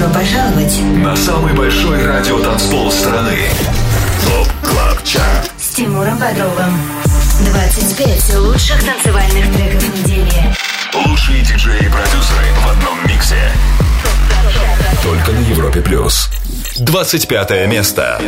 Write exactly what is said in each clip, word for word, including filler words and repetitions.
Добро пожаловать на самый большой радиотанцпол страны. ТОП Клаб Чарт с Тимуром Бодровым. двадцать пять лучших танцевальных треков недели. Лучшие диджеи и продюсеры в одном миксе. Только на Европе Плюс. двадцать пятое место.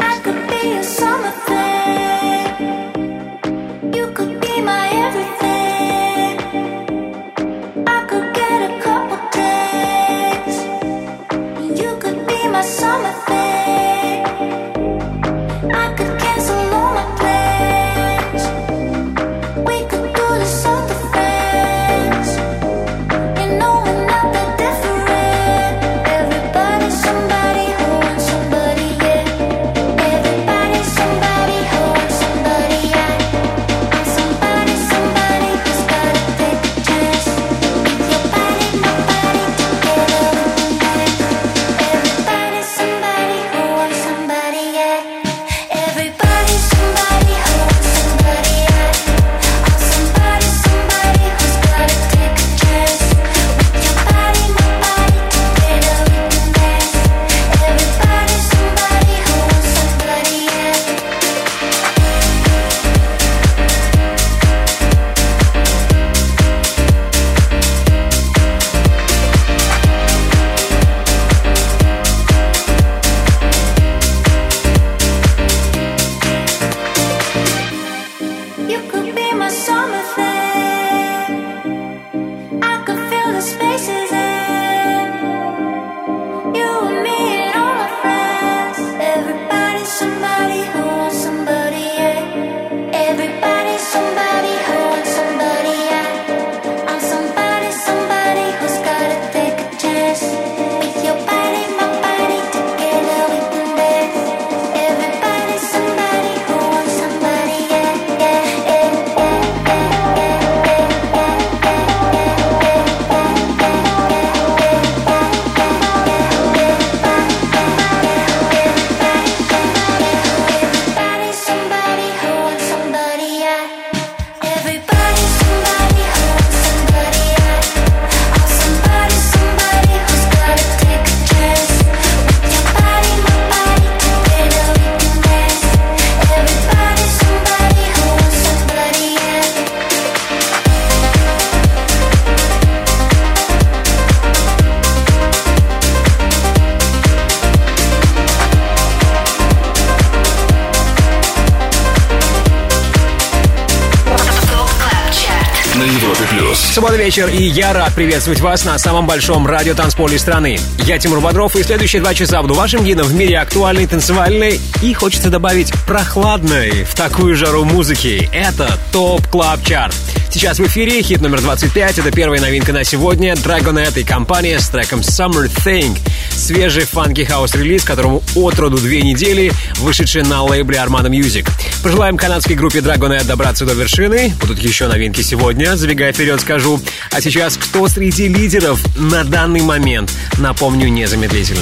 Суббота вечер, и я рад приветствовать вас на самом большом радиотанцполе страны. Я Тимур Бодров, и следующие два часа буду вашим гидом в мире актуальной, танцевальной и, хочется добавить, прохладной в такую жару музыки. Это ТОП Клаб Чарт. Сейчас в эфире хит номер двадцать пять. Это первая новинка на сегодня. Dragonette и компания с треком Summer Thing. Свежий фанки хаус-релиз, которому от роду две недели, вышедший на лейбле Armada Music. Пожелаем канадской группе Dragonette добраться до вершины. Будут еще новинки сегодня, забегая вперед скажу. А сейчас кто среди лидеров на данный момент? Напомню незамедлительно.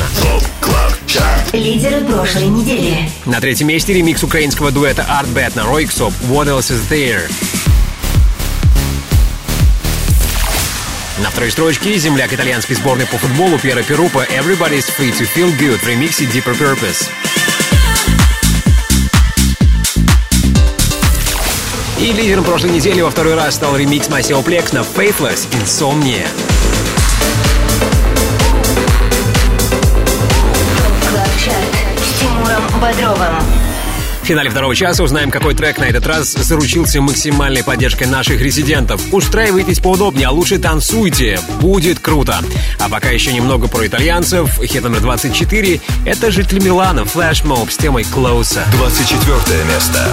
Лидеры прошлой недели. На третьем месте ремикс украинского дуэта Art Bad на Roixop What Else Is There. На второй строчке земляк итальянской сборной по футболу Пьеро Перупа Everybody's Free to Feel Good в ремиксе Deeper Purpose. И лидером прошлой недели во второй раз стал ремикс Maceo Plex на Faithless Insomnia. С Тимуром Бодровым. В финале второго часа узнаем, какой трек на этот раз заручился максимальной поддержкой наших резидентов. Устраивайтесь поудобнее, а лучше танцуйте. Будет круто. А пока еще немного про итальянцев. Хит номер двадцать четыре — это житель Милана Flash Mob с темой Closer. двадцать четвертое место.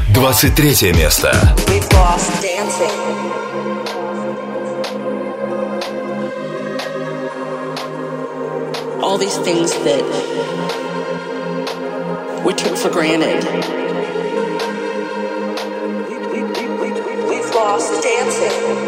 двадцать третье место. All these things that we took for granted. We, we, we, we, we've lost dancing.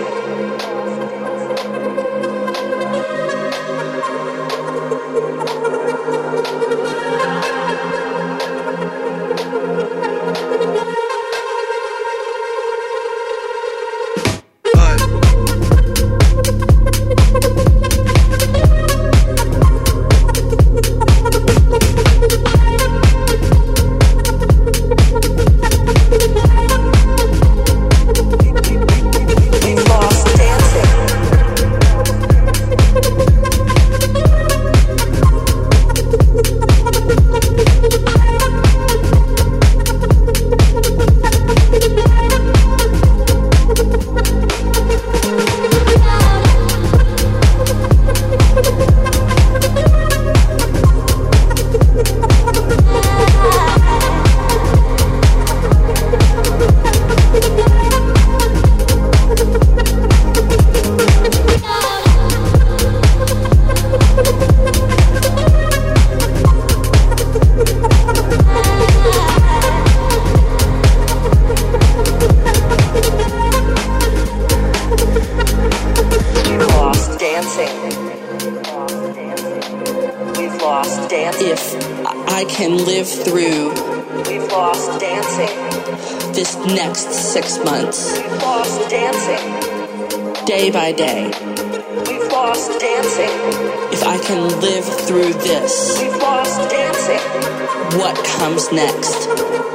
Six months. We've lost dancing. Day by day. We've lost dancing. If I can live through this. We've lost dancing. What comes next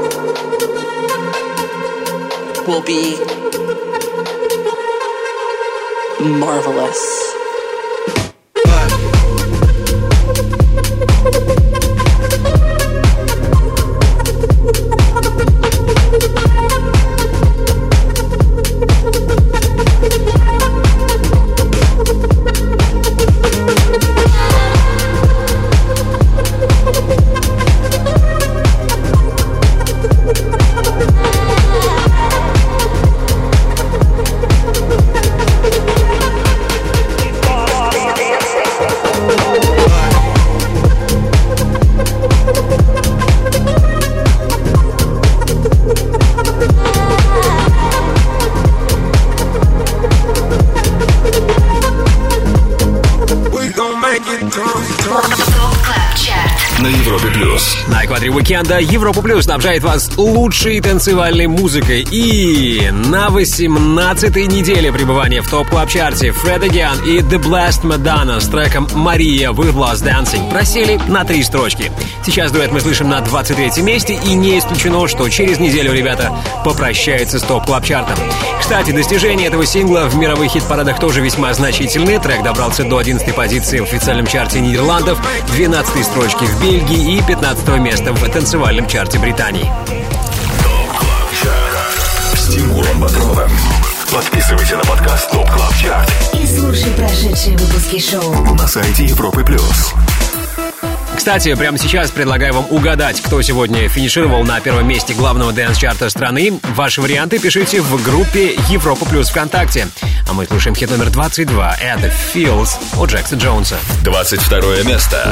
will be marvelous. На Европе Плюс. На экваторе уикенда Европа Плюс снабжает вас лучшей танцевальной музыкой. И на восемнадцатой неделе пребывания в топ-клаб-чарте Fred Again и The Blessed Madonna с треком «Maria with Lost Dancing» просели на три строчки. Сейчас дуэт мы слышим на двадцать третьем месте, и не исключено, что через неделю ребята попрощаются с топ-клаб-чартом. Кстати, достижения этого сингла в мировых хит-парадах тоже весьма значительны. Трек добрался до одиннадцатой позиции в официальном чарте Нидерландов, двенадцатой строчки в Бельгии и пятнадцатого места в танцевальном чарте Британии. С Тимуром Бодровым. Подписывайся на подкаст Топ Клаб Чарт и слушай прошедшие выпуски шоу на сайте Европы Плюс. Кстати, прямо сейчас предлагаю вам угадать, кто сегодня финишировал на первом месте главного дэнс-чарта страны. Ваши варианты пишите в группе Европа Плюс ВКонтакте. А мы слушаем хит номер двадцать два «The Feels» от Джекса Джонса. двадцать второе место.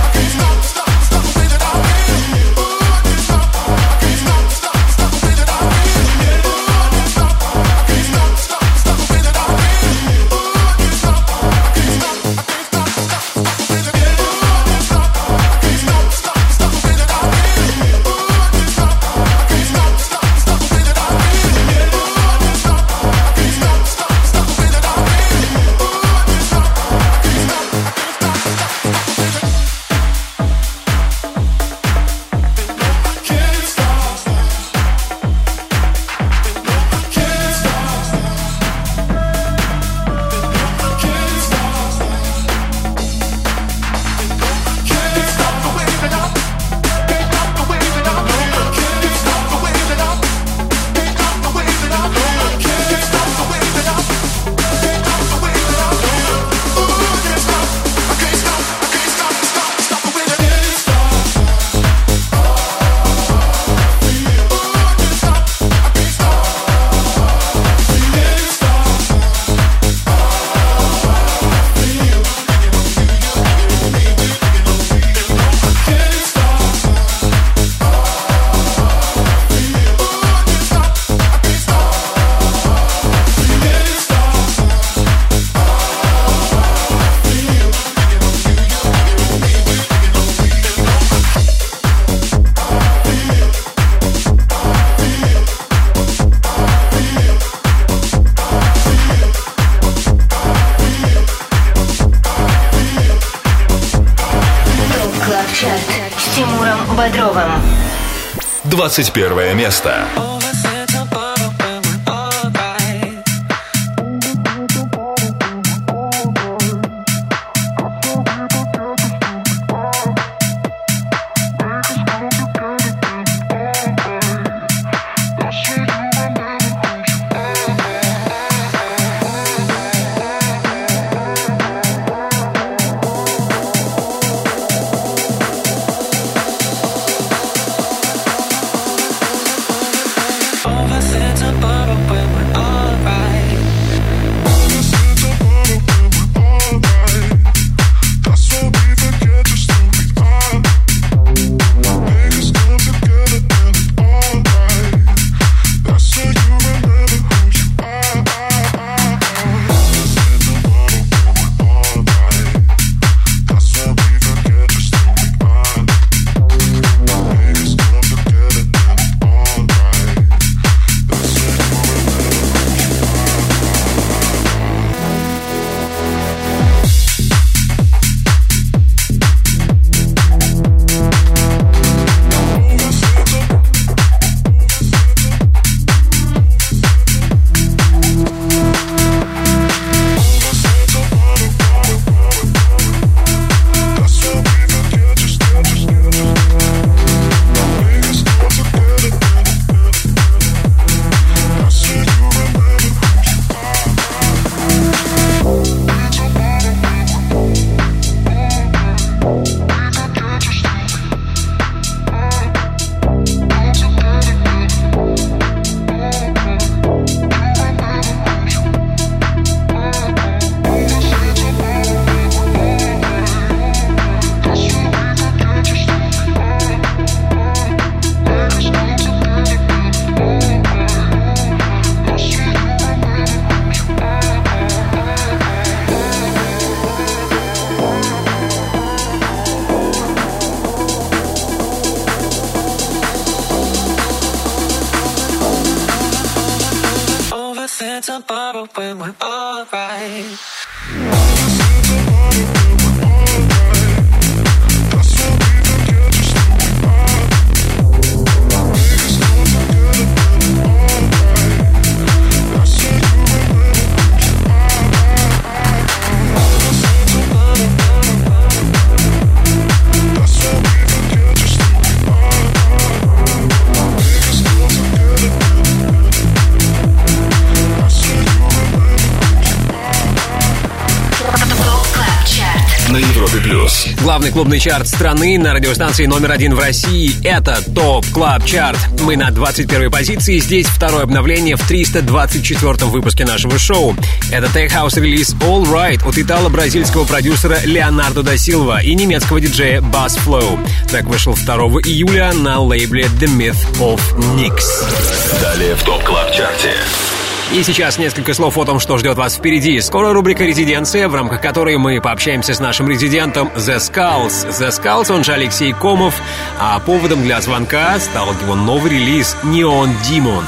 Stop Бодровым. двадцать первое место. Главный клубный чарт страны на радиостанции номер один в России — это ТОП Клаб Чарт. Мы на двадцать первой позиции. Здесь второе обновление в триста двадцать четвёртом выпуске нашего шоу. Это Tech House релиз All Right от итало-бразильского продюсера Леонардо да Силва и немецкого диджея Bass Flow. Трек вышел второго июля на лейбле The Myth of Nix. Далее в ТОП Клаб Чарте. И сейчас несколько слов о том, что ждет вас впереди. Скоро рубрика «Резиденция», в рамках которой мы пообщаемся с нашим резидентом The Skulls. The Skulls, он же Алексей Комов, а поводом для звонка стал его новый релиз Neon Demon.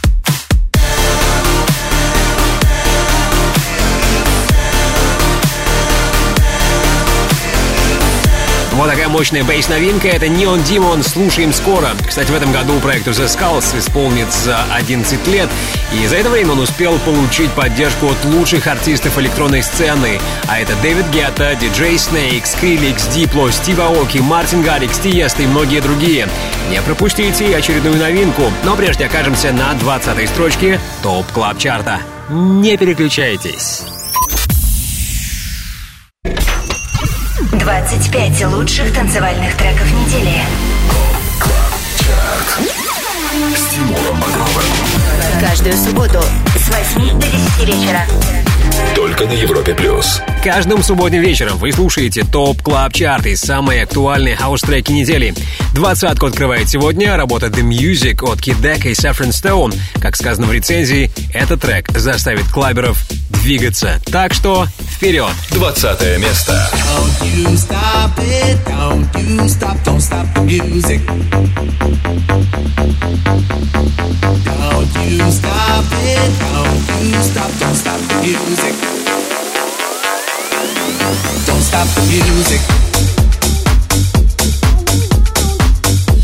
Вот такая мощная бейс-новинка — это Neon Demon. Слушаем скоро. Кстати, в этом году проекту The Skulls исполнится одиннадцать лет, и за это время он успел получить поддержку от лучших артистов электронной сцены. А это Дэвид Гетта, диджей Snake, Skrillex, Diplo, Стив Аоки, Мартин Гаррикс, Тиеста и многие другие. Не пропустите очередную новинку. Но прежде окажемся на двадцатой строчке ТОП Клаб Чарта. Не переключайтесь. двадцать пять лучших танцевальных треков недели. С Тимуром Бодровым. Каждую субботу с восьми до десяти вечера. Только на Европе плюс. Каждым субботним вечером вы слушаете ТОП Клаб Чарты, самые актуальные хаус-треки недели. Двадцатку открывает сегодня работа The Music от Kid Deck и Saffron Stone. Как сказано в рецензии, этот трек заставит клаберов двигаться. Так что вперед! Двадцатое место. Don't you stop it, don't you stop, don't stop the music. Don't you stop it, don't you stop, don't stop the music. Don't stop the music.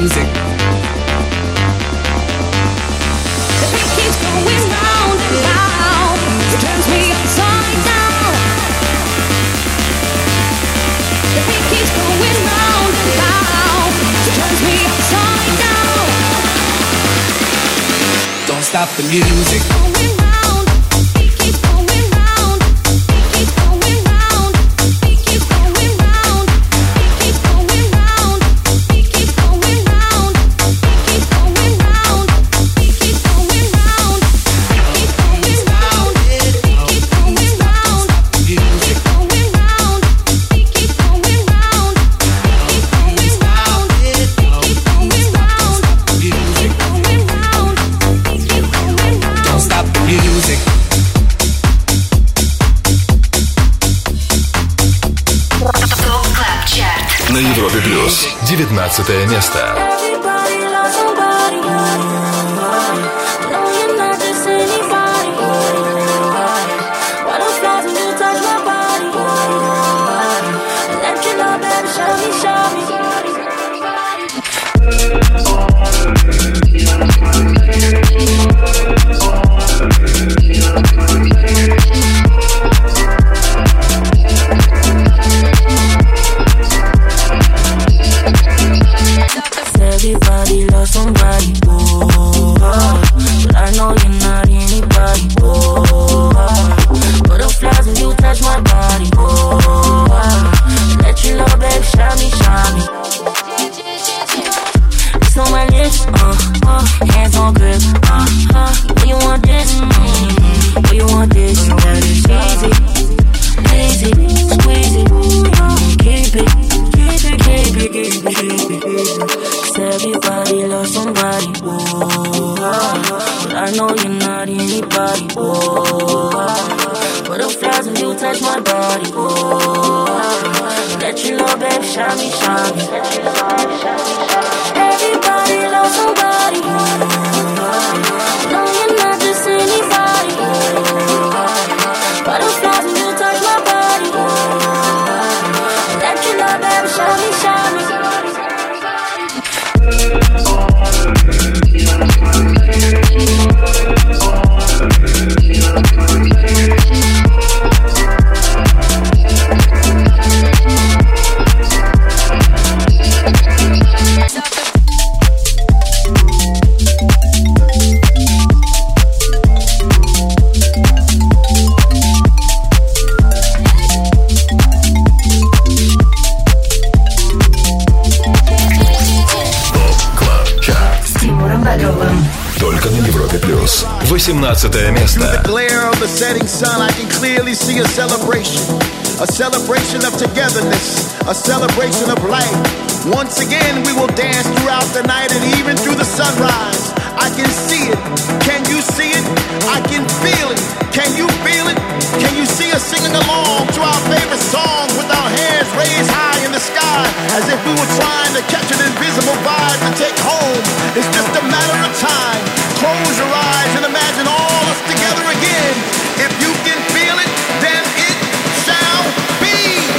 music. The beat keeps going round and round. It turns me upside down. The beat keeps going round and round. It turns me upside down. Don't stop the music. Going round. Beat keeps going round. Beat keeps going round. Beat keeps going round. Beat keeps going round. Beat keeps going round. Beat keeps going round. Beat keeps going round. Beat keeps going round. Beat keeps going round. Music. Going round. Beat keeps going round. Beat keeps going round. Beat keeps going round. Music. Going round. Beat keeps going round. Don't stop the music. ТОП КЛАБ ЧАРТ. На Европе плюс девятнадцатое место. Everybody loves somebody. No, you're not just anybody. Butterflies when you touch my body. Let you know, baby, show me, show me. Everybody loves somebody, oh, but I know you're not anybody, oh, butterflies when you touch my body, oh, let you know, baby, shine me, shine me. It's on my lips, uh, uh, hands on grip, uh, uh, when you want this, mm-hmm. When you want this, that is easy, easy, squeeze it, keep it, keep it, keep it, keep it, keep it, keep it. Everybody loves somebody, oh, but I know you're not anybody, oh, butterflies when you touch my body, oh, let you know, babe, shine me, shine me. Everybody loves somebody, no, you're not just anybody, butterflies when you touch my body, let you know, babe, shine me, shine me. Только на Европе плюс восемнадцатое место. Through the glare of the setting sun, I can clearly see a celebration. A celebration of togetherness. A celebration of life. Once again, we will dance throughout the night and even through the sunrise. I can see it. Can you see it? I can feel it. Can you feel it? Can you see us singing along to our favorite song with our hands raised high in the sky as if we were trying to catch an invisible vibe to take home? It's just a matter of time. Close your eyes and imagine all us together again. If you can feel it, then it shall be.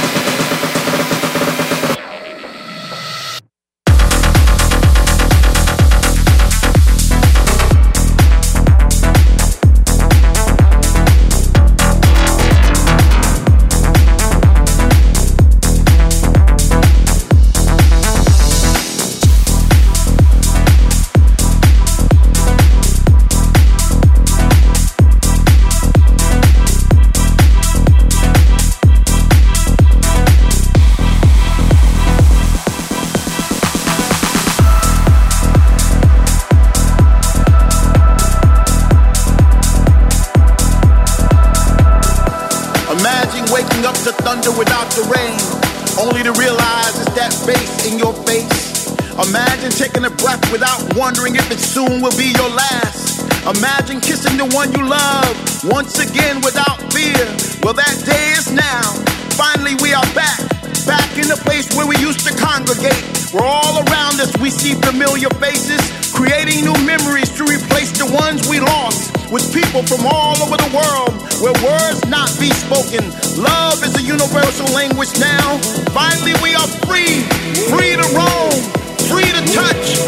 Waking up to thunder without the rain, only to realize it's that bass in your face. Imagine taking a breath without wondering if it soon will be your last. Imagine kissing the one you love once again without fear. Well, that day is now. Finally we are back, back in the place where we used to congregate. Where all around us we see familiar faces, creating new memories to replace the ones we lost. With people from all over the world, where words not be spoken. Love is a universal language now. Finally we are free, free to roam, free to touch,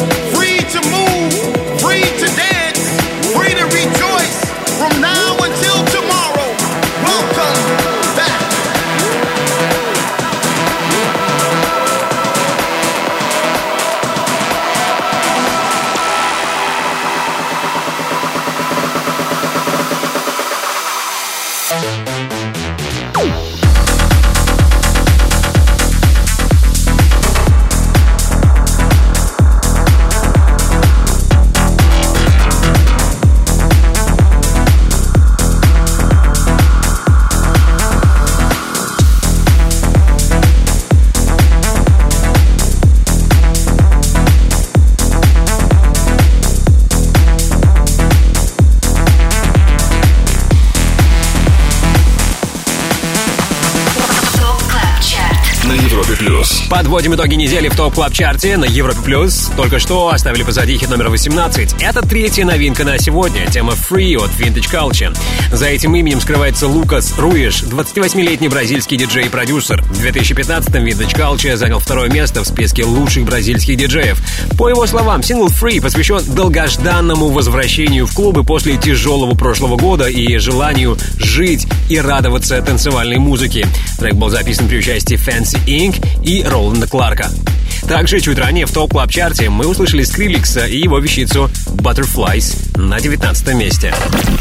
Подводим итоги недели в ТОП Клаб Чарте на Европе Плюс. Только что оставили позади хит номер восемнадцать. Это третья новинка на сегодня. Тема Free от Vintage Culture. За этим именем скрывается Лукас Руиш, двадцативосьмилетний бразильский диджей и продюсер. В две тысячи пятнадцатом Vintage Culture занял второе место в списке лучших бразильских диджеев. По его словам, сингл Free посвящен долгожданному возвращению в клубы после тяжелого прошлого года и желанию жить и радоваться танцевальной музыке. Трек был записан при участии Fancy инкорпорейтед и Роланда Кларка. Также чуть ранее в ТОП Клаб Чарте мы услышали Скриликса и его вещицу Butterflies на девятнадцатом месте.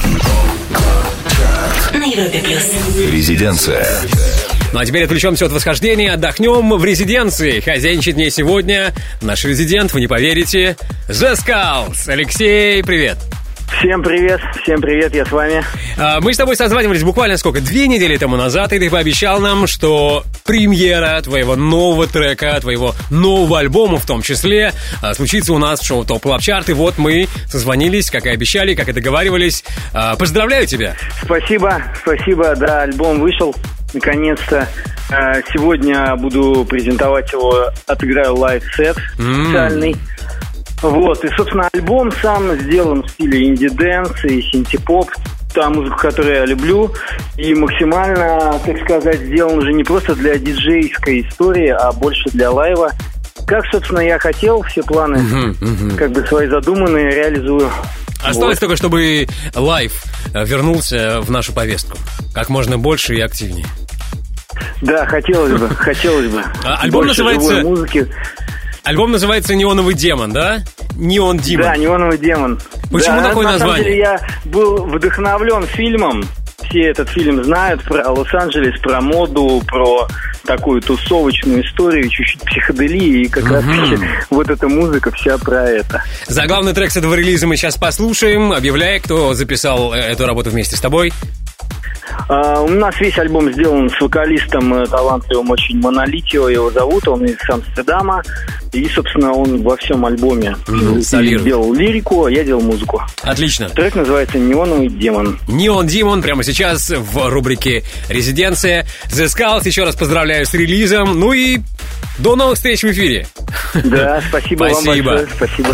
На Европе Плюс. Резиденция. Ну а теперь отвлечемся от восхождения, отдохнем в резиденции. Хозяйничает мне сегодня наш резидент, вы не поверите, The Skulls. Алексей, привет. Всем привет, всем привет, я с вами. Мы с тобой созванивались буквально сколько? Две недели тому назад, и ты пообещал нам, что премьера твоего нового трека, твоего нового альбома в том числе, случится у нас в шоу ТОП Клаб Чарт. И вот мы созвонились, как и обещали, как и договаривались. Поздравляю тебя. Спасибо, спасибо, да, альбом вышел, наконец-то. Сегодня буду презентовать его, отыграю лайв-сет специальный. Mm. Вот, и, собственно, альбом сам сделан в стиле инди-дэнс и синти-поп, та музыка, которую я люблю, и максимально, так сказать, сделан уже не просто для диджейской истории, а больше для лайва. Как, собственно, я хотел, все планы, uh-huh, uh-huh. как бы свои задуманные, реализую. Осталось вот. Только, чтобы лайв вернулся в нашу повестку как можно больше и активнее. Да, хотелось бы, хотелось бы. Альбом называется... Альбом называется «Неоновый демон», да? «Неон Демон». Да, «Неоновый демон». Почему да, такое на название? На самом деле я был вдохновлен фильмом. Все этот фильм знают про Лос-Анджелес, про моду, про такую тусовочную историю, чуть-чуть психоделии. И как uh-huh. раз-таки вот эта музыка вся про это. Заглавный трек с этого релиза мы сейчас послушаем. Объявляй, кто записал эту работу вместе с тобой. Uh, у нас весь альбом сделан с вокалистом талантливым очень Монолитио, его зовут, он из Амстердама. И, собственно, он во всем альбоме mm, делал лирику, а я делал музыку. Отлично. Трек называется «Неоновый демон». «Неон Демон» прямо сейчас в рубрике «Резиденция». The Skulls, еще раз поздравляю с релизом. Ну и до новых встреч в эфире. Да, спасибо вам большое. Спасибо.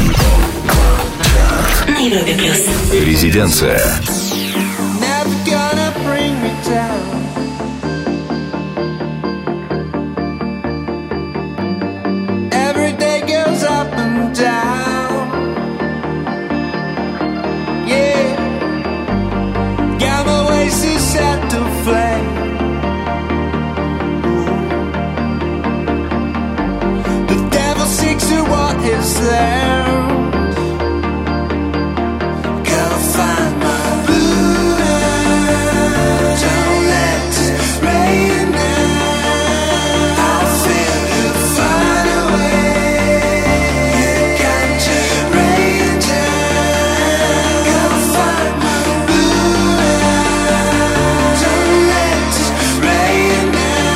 На Европе Плюс. Резиденция. Gonna bring me down. Every day goes up and down. Yeah, got my ways to set to flame. The devil seeks to what is there. Gotta find my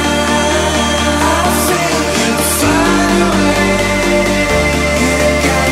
got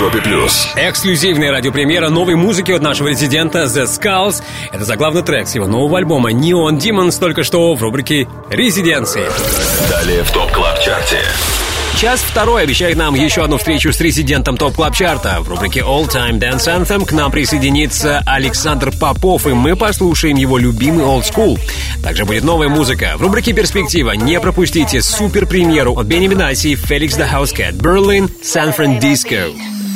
Европе плюс. Эксклюзивная радиопремьера новой музыки от нашего резидента The Skulls. Это заглавный трек с его нового альбома Neon Demons только что в рубрике «Резиденции». Далее в ТОП Клаб Чарте. Час второй обещает нам еще одну встречу с резидентом ТОП Клаб Чарта. В рубрике All Time Dance Anthem к нам присоединится Александр Попов, и мы послушаем его любимый Old School. Также будет новая музыка. В рубрике Перспектива не пропустите супер-премьеру от Бенни Бенаси, Felix the Housecat, Berlin, San Francisco.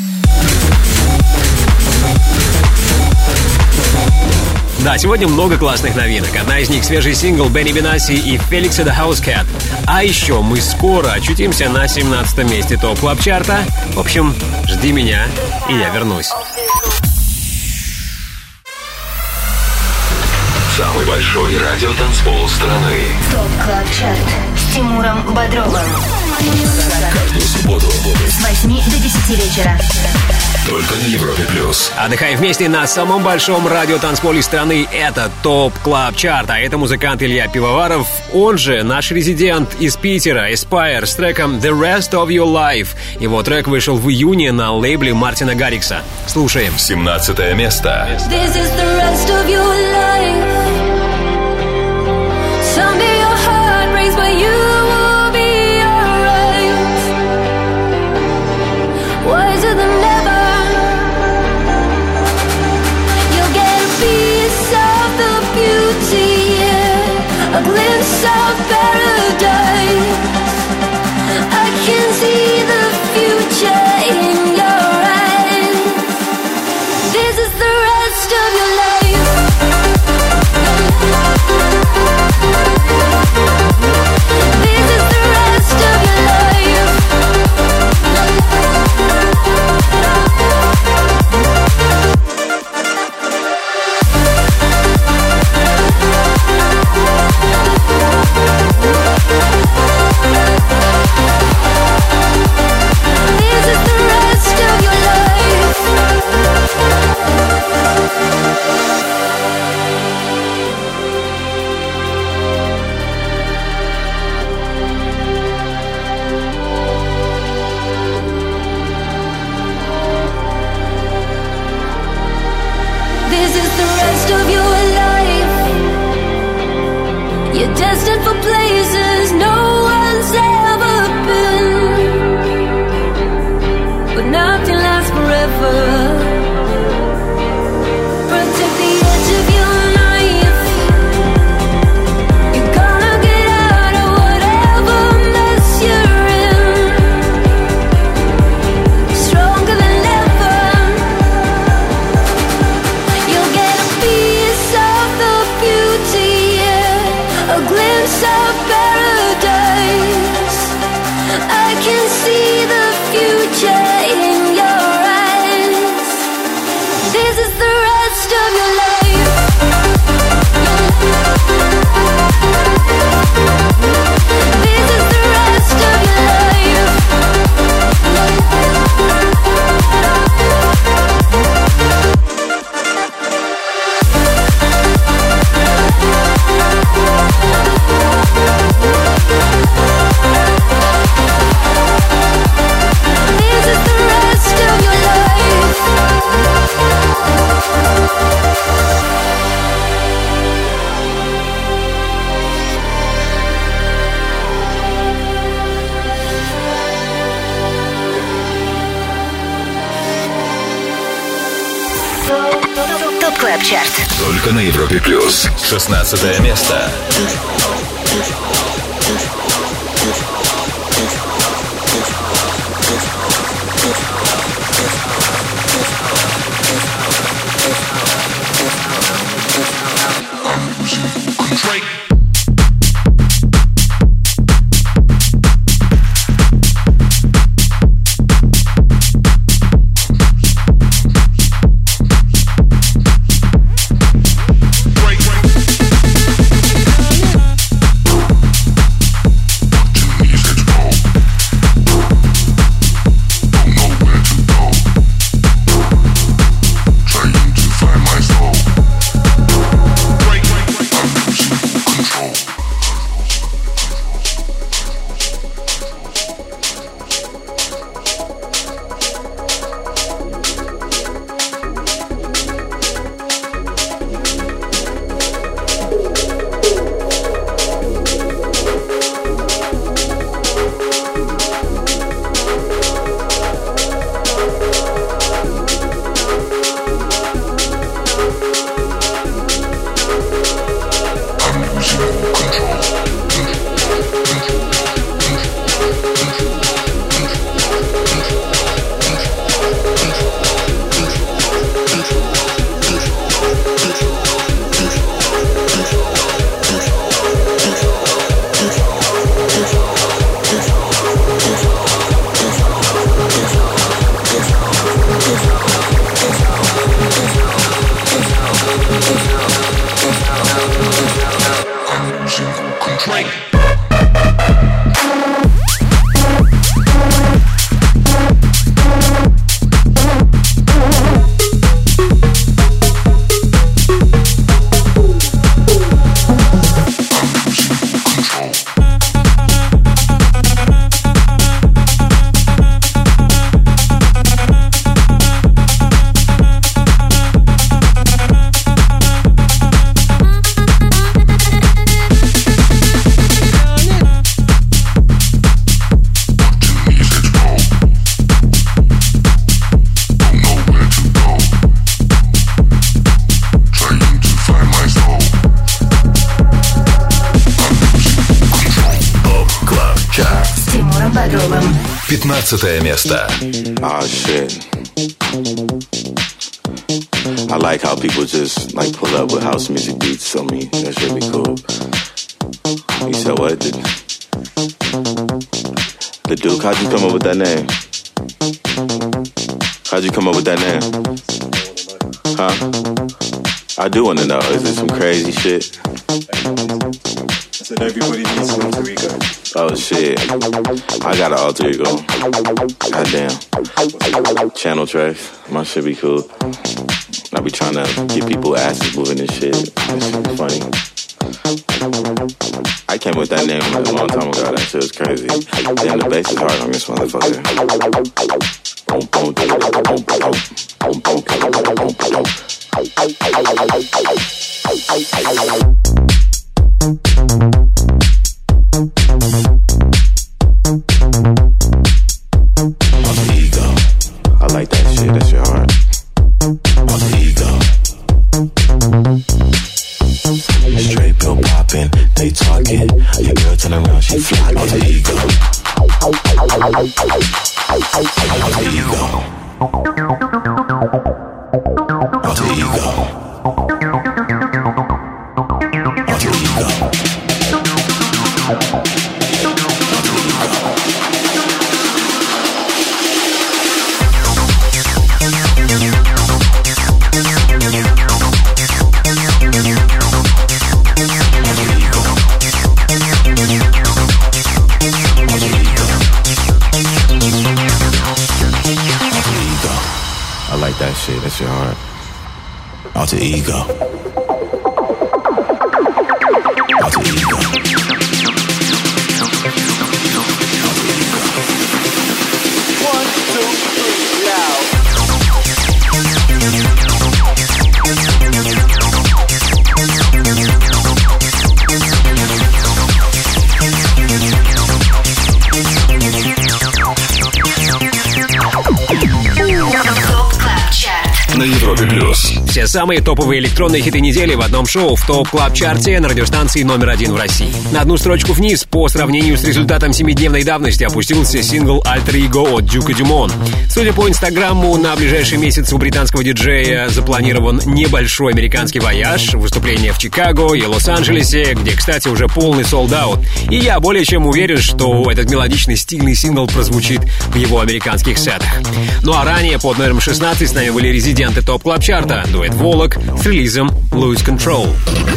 Да, сегодня много классных новинок. Одна из них — свежий сингл Бенни Бенаси и Felix the Housecat. А еще мы скоро очутимся на семнадцатом месте ТОП Клаб Чарта. В общем, жди меня, и я вернусь. Самый большой радиотанцпол страны. ТОП Клаб Чарт с Тимуром Бодровым. Каждую субботу С восьми до десяти вечера. только на Европе плюс. Отдыхаем вместе на самом большом радиотанцполе страны. Это ТОП Клаб Чарт, а это музыкант Илья Пивоваров, он же наш резидент из Питера, Aspire, с треком The Rest of Your Life. Его трек вышел в июне на лейбле Мартина Гаррикса. Слушаем. семнадцатое место. This is the rest of your life. Someday your heart breaks, but you will be alright. Wiser than ever. You'll get a piece of the beauty, yeah. A glimpse of paradise. I can see the future in your eyes. This is the rest of your life. This is the rest of your life. This is the rest of your life. This is the rest of your life. You're destined for places no one's ever been, but nothing lasts forever. Protect the edge of your knife. You're gonna get out of whatever mess you're in, stronger than ever. You'll get a piece of the beauty, yeah. A glimpse of paradise. I can see the future in your eyes. This is the rest of your life. This is the rest of your life. This is the rest of your life. ТОП Клаб Чарт. Только на Европе плюс. шестнадцатое место. пятнадцатое место. Oh shit. I like how people just like pull up with house music beats on me. That should be cool. You said what? The, the Duke, how'd you come up with that name? How'd you come up with that name? Huh? I do want to know. Is it some crazy shit? I said everybody needs an alter ego. Oh shit. I got an alter ego. Goddamn. Channel tracks. My shit be cool. I be trying to get people asses moving and shit. That shit be funny. I came with that name like a long time ago. That shit was crazy. Damn, the bass is hard on this motherfucker. Boom, boom, boom, boom, boom, boom, boom, boom, alter ego. I like that shit. That shit hard. Alter ego. Straight pill popping, they talking. Your girl turn around, she fly. Alter ego. Alter ego. Alter ego. Alter ego. I like that shit. That shit hard. Alter ego. Alter ego. One, two, three, loud. На Европе Плюс. Все самые топовые электронные хиты недели в одном шоу в ТОП Клаб Чарте на радиостанции номер один в России. На одну строчку вниз по сравнению с результатом семидневной давности опустился сингл Alter Ego от Дюка Дюмон. Судя по инстаграму, на ближайший месяц у британского диджея запланирован небольшой американский вояж, выступление в Чикаго и Лос-Анджелесе, где, кстати, уже полный солд-аут. И я более чем уверен, что этот мелодичный стильный сингл прозвучит в его американских сетах. Ну а ранее под номером шестнадцать с нами были резиденты ТОП Клаб Чарта, дуэт Волок с релизом Lose Control.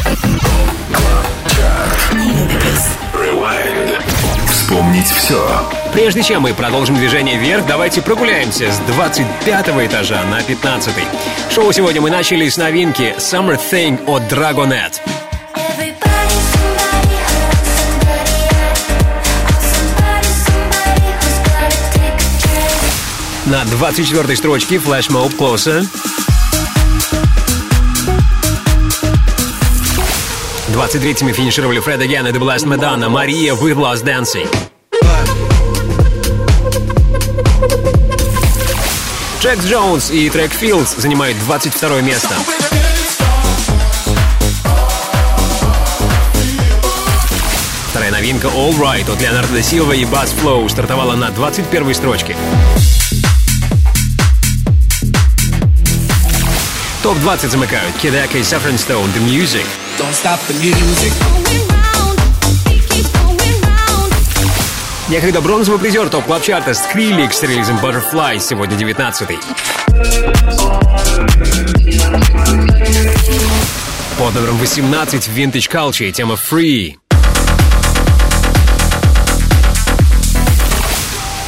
Вспомнить все. Прежде чем мы продолжим движение вверх, давайте прогуляемся с двадцать пятого этажа на пятнадцатый. Шоу сегодня мы начали с новинки Summer Thing от Dragonette. На двадцать четвёртой строчке Flash Mob Closer. двадцать третьими финишировали Fred Again и The Blast Madonna, Мария with Lost Dancing. Джекс Джонс и трек Fields занимают двадцать второе место. Вторая новинка All Right от Леонардо да Силва и Bass Flow стартовала на двадцать первой строчке. топ двадцать замыкают Kid Aka и Saffron Stone, The Music. Don't stop the music. Некогда бронзовый призер ТОП Клаб Чарта Skrillex с релизом Butterfly, сегодня девятнадцатый. Под номером восемнадцать Vintage Culture, тема Free.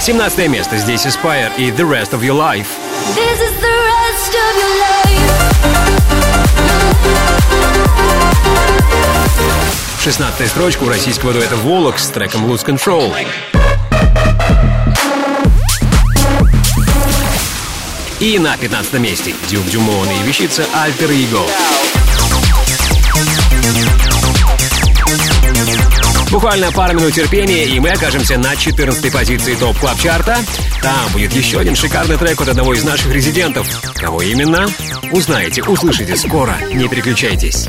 семнадцатое место. Здесь Aspire и The Rest of Your Life. This is the rest of your life. шестнадцатая строчка у российского дуэта Волок с треком Lose Control. И на пятнадцатом месте Дюк Дюмон и вещица Alter Ego. Буквально пару минут терпения, и мы окажемся на четырнадцатой позиции ТОП Клаб Чарта. Там будет еще один шикарный трек от одного из наших резидентов. Кого именно? Узнаете, услышите скоро. Не переключайтесь.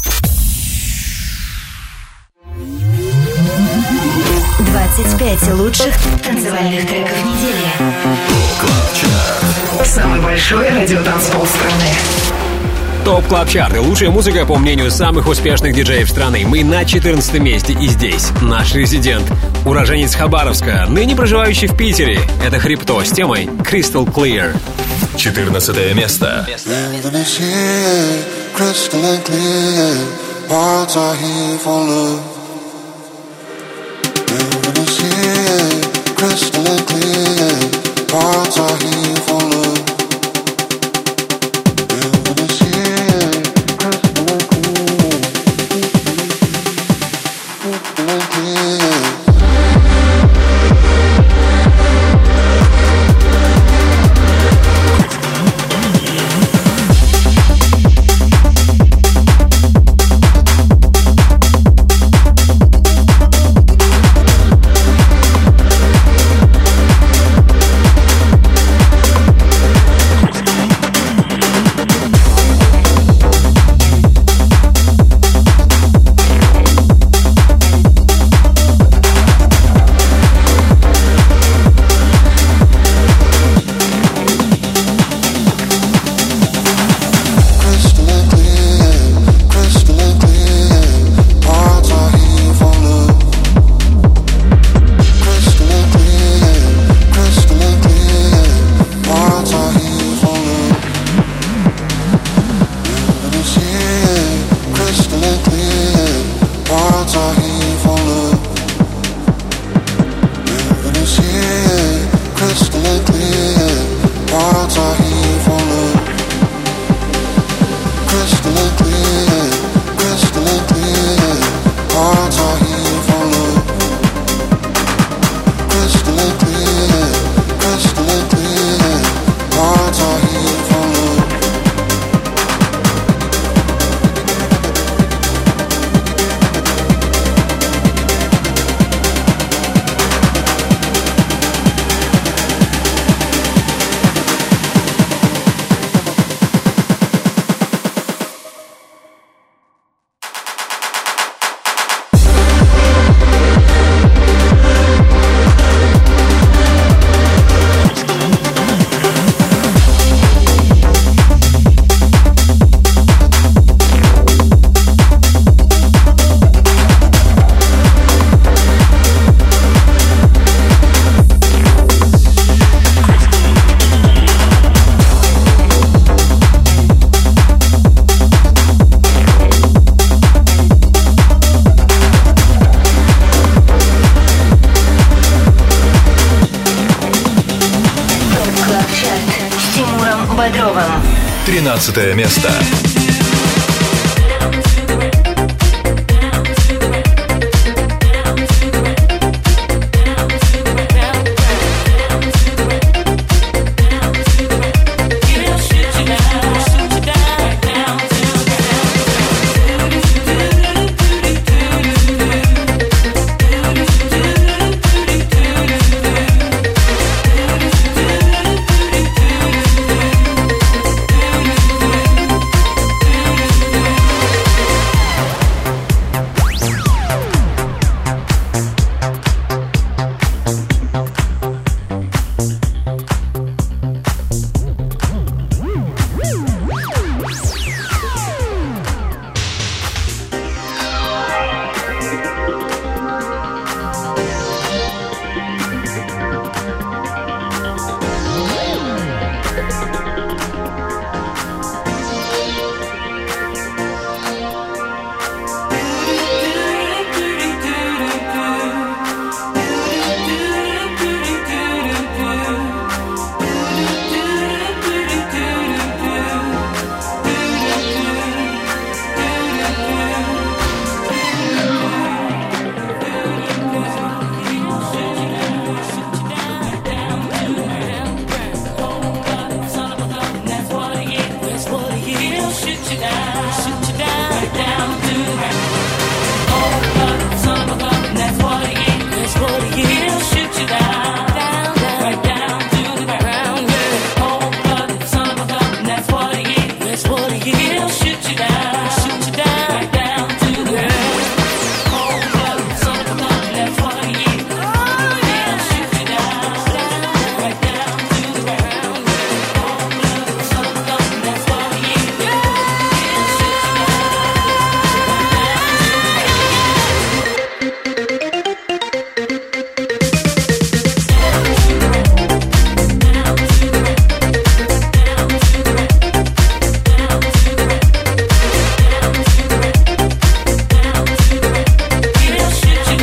двадцать пять лучших танцевальных треков недели. Клаб Чарт. Самый большой радиотанцпол страны. ТОП Клаб Чарт и лучшая музыка, по мнению самых успешных диджеев страны. Мы на четырнадцатом месте, и здесь наш резидент, уроженец Хабаровска, ныне проживающий в Питере. Это Хрипто с темой Crystal Clear. четырнадцатое место. тринадцатое место.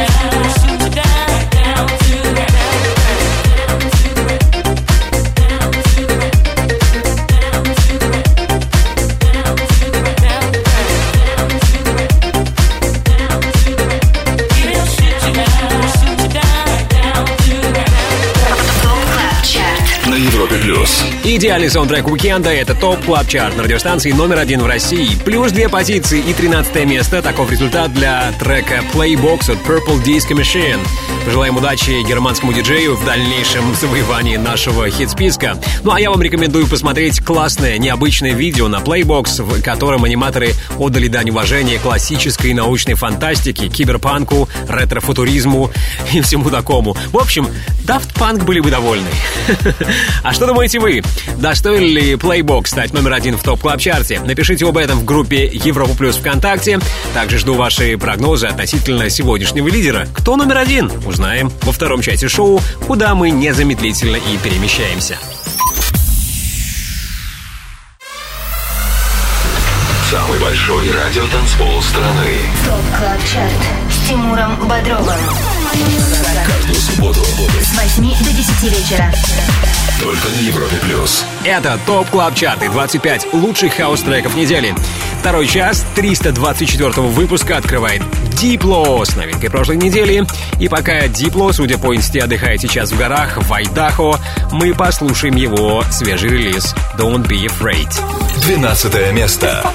Идеальный саундтрек уикенда — это ТОП Клаб Чарт на радиостанции номер один в России. Плюс две позиции и тринадцатое место. Таков результат для трека Playbox от Purple Disco Machine. Пожелаем удачи германскому диджею в дальнейшем завоевании нашего хит-списка. Ну а я вам рекомендую посмотреть классное, необычное видео на Playbox, в котором аниматоры отдали дань уважения классической научной фантастике, киберпанку, ретро-футуризму и всему такому. В общем, Daft Punk были бы довольны. А что думаете вы? Достоин ли Playbox стать номер один в ТОП Клаб Чарте? Напишите об этом в группе Европа Плюс ВКонтакте. Также жду ваши прогнозы относительно сегодняшнего лидера. Кто номер один? Узнаем во втором части шоу, куда мы незамедлительно и перемещаемся. Самый большой радиотанцпол страны. ТОП Клаб Чарт с Тимуром Бодровым. Каждую субботу С восьми до десяти вечера. только на Европе Плюс. Это ТОП Клаб Чарт и двадцать пять лучших хаус-треков недели. Второй час триста двадцать четвёртого выпуска открывает Дипло с новинкой прошлой недели. И пока Дипло, судя по инсте, отдыхает сейчас в горах в Айдахо, мы послушаем его свежий релиз «Don't Be Afraid». Двенадцатое место.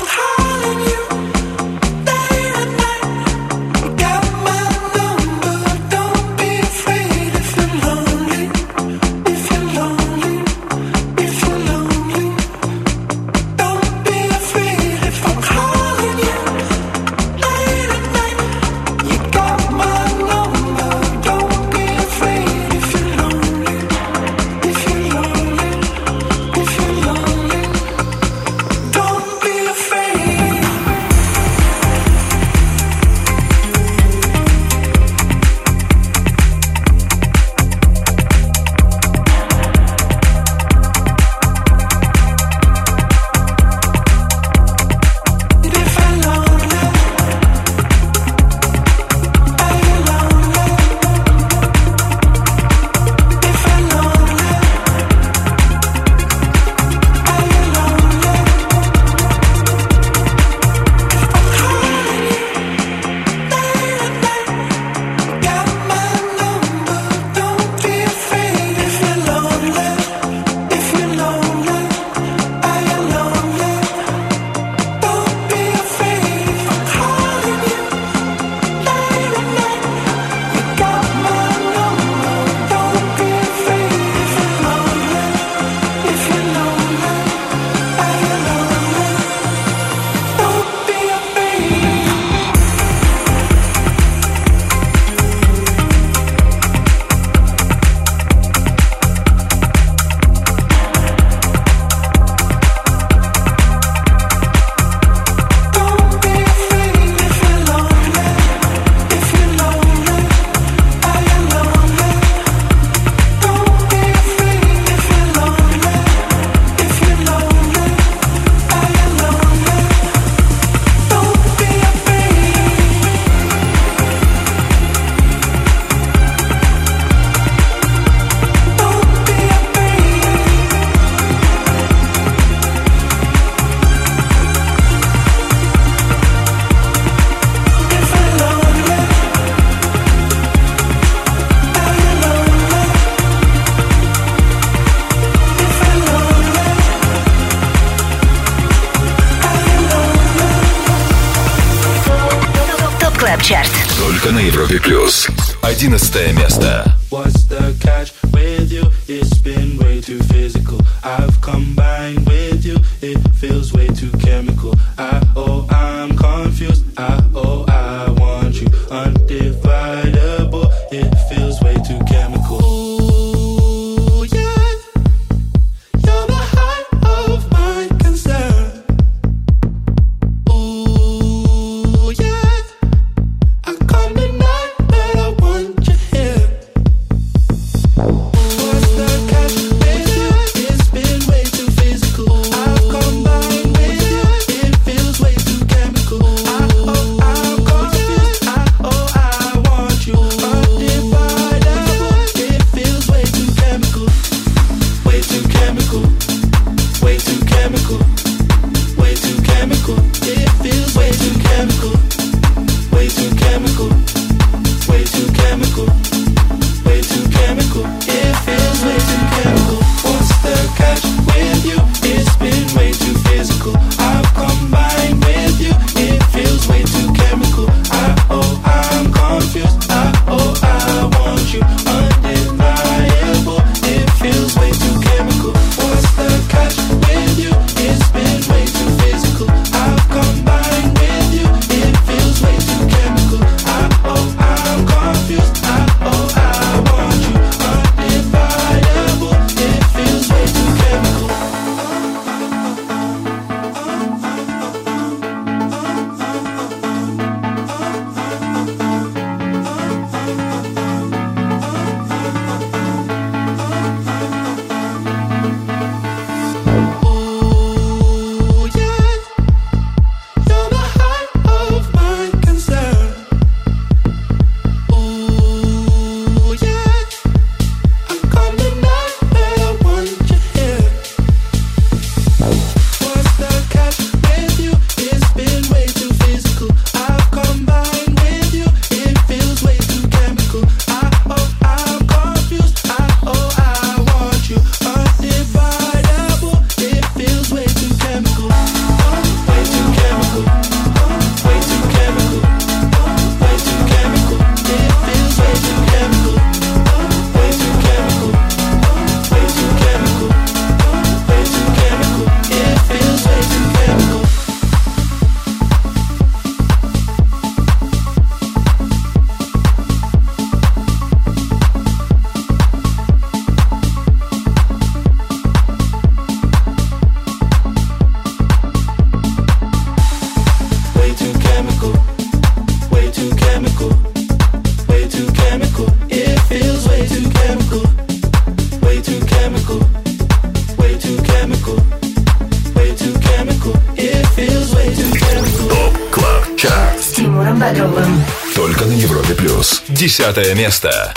Только на Европе Плюс. Одиннадцатое место. What's the catch with you? It's been way too physical. I've combined with you. It feels way too chemical. I oh I'm confused. I oh I want you undividable. It feels way too chemical. Ooh, yeah. You're the height of my concern. Ooh, yeah. I come tonight, but I want you here. What's the catch with you? It's been way too physical. I've combined with you. chemical, way too chemical. It feels way too chemical. What's the catch with you? It's been way too physical. I've combined with you. It feels way too chemical. I oh I'm confused. I oh I want you undeniable. It feels way too chemical. What's the catch with you? It's been way too physical. I've combined with you. It feels way too chemical. I oh I'm confused. I oh I want you undividable. It feels way too chemical. Ooh, yeah, you're the height of my concern. Ooh, yeah, I'm coming out where I want you here. What's the catch with you? It's been way too physical. I've combined with you. It feels way too chemical. I oh I'm confused. I oh I want you undividable. It feels way too chemical. Way too chemical. Way too chemical. Way too chemical. It feels way too chemical. Way too chemical. Way too chemical. Way too chemical. It feels way too chemical. Way too chemical, way too chemical, way too chemical. It feels way too chemical, way too chemical, way too chemical, way too chemical. It feels way too chemical. ТОП КЛАБ ЧАРТ. С Тимуром Бодровым. Только на Европе плюс. Десятое место.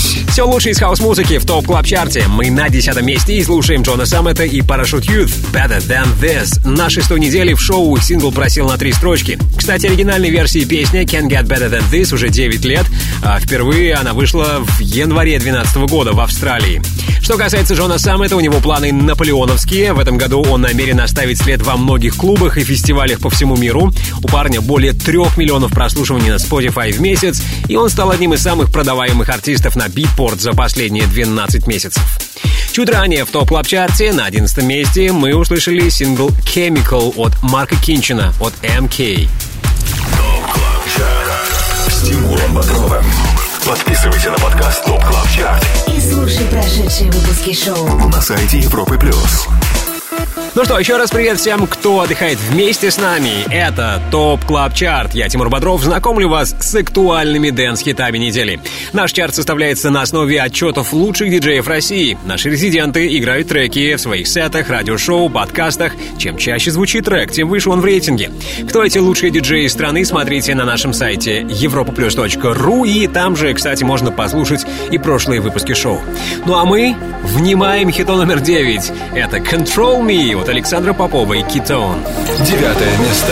Все лучшее из хаус-музыки в ТОП Клаб Чарте. Мы на десятом месте и слушаем Джона Саммета и Parachute Youth Better Than This. На шестой неделе в шоу сингл просел на три строчки. Кстати, оригинальной версии песни Can't Get Better Than This уже девять лет, а впервые она вышла в январе две тысячи двенадцатого года в Австралии. Что касается Джона Саммета, у него планы наполеоновские. В этом году он намерен оставить след во многих клубах и фестивалях по всему миру. У парня более трех миллионов прослушиваний на Spotify в месяц, и он стал одним из самых продаваемых артистов на Beatport за последние двенадцать месяцев. Чуть ранее в ТОП Клаб Чарте на одиннадцатом месте мы услышали сингл Chemical от Марка Кинчина от эм кей. ТОП Клаб Чарт с Тимуром Бодровым. Подписывайся на подкаст ТОП Клаб Чарт И слушай прошедшие выпуски шоу на сайте Европы Плюс. Ну что, еще раз привет всем, кто отдыхает вместе с нами. Это ТОП Клаб Чарт. Я, Тимур Бодров, знакомлю вас с актуальными дэнс-хитами недели. Наш чарт составляется на основе отчетов лучших диджеев России. Наши резиденты играют треки в своих сетах, радиошоу, подкастах. Чем чаще звучит трек, тем выше он в рейтинге. Кто эти лучшие диджеи страны, смотрите на нашем сайте европа плюс точка ру. И там же, кстати, можно послушать и прошлые выпуски шоу. Ну а мы внимаем хиту номер девять. Это Control Me от Александра Попова и Кетон. Девятое место.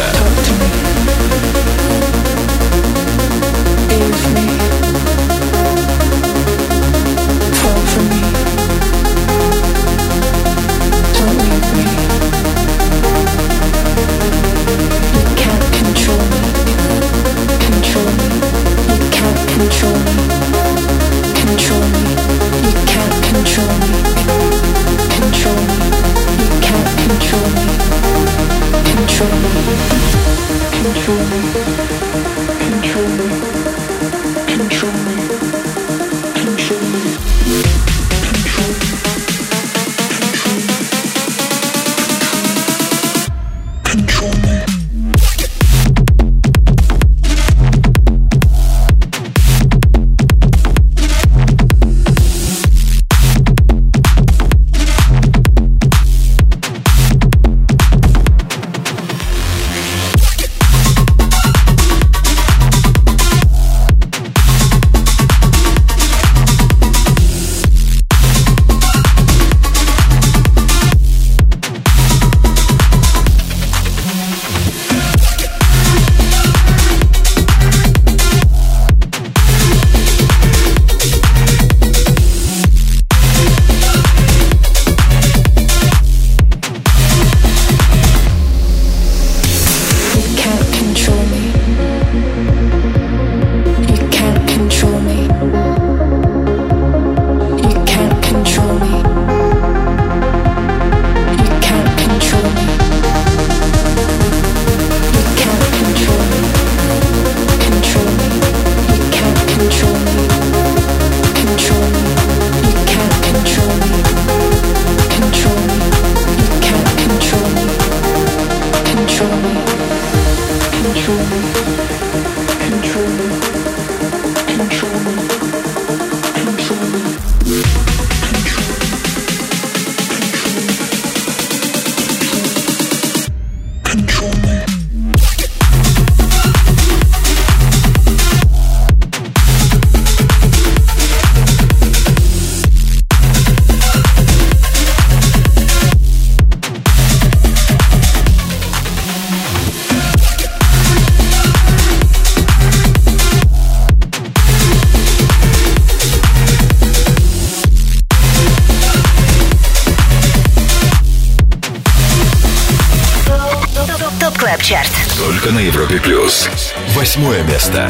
Чарт. Только на Европе Плюс. Восьмое место.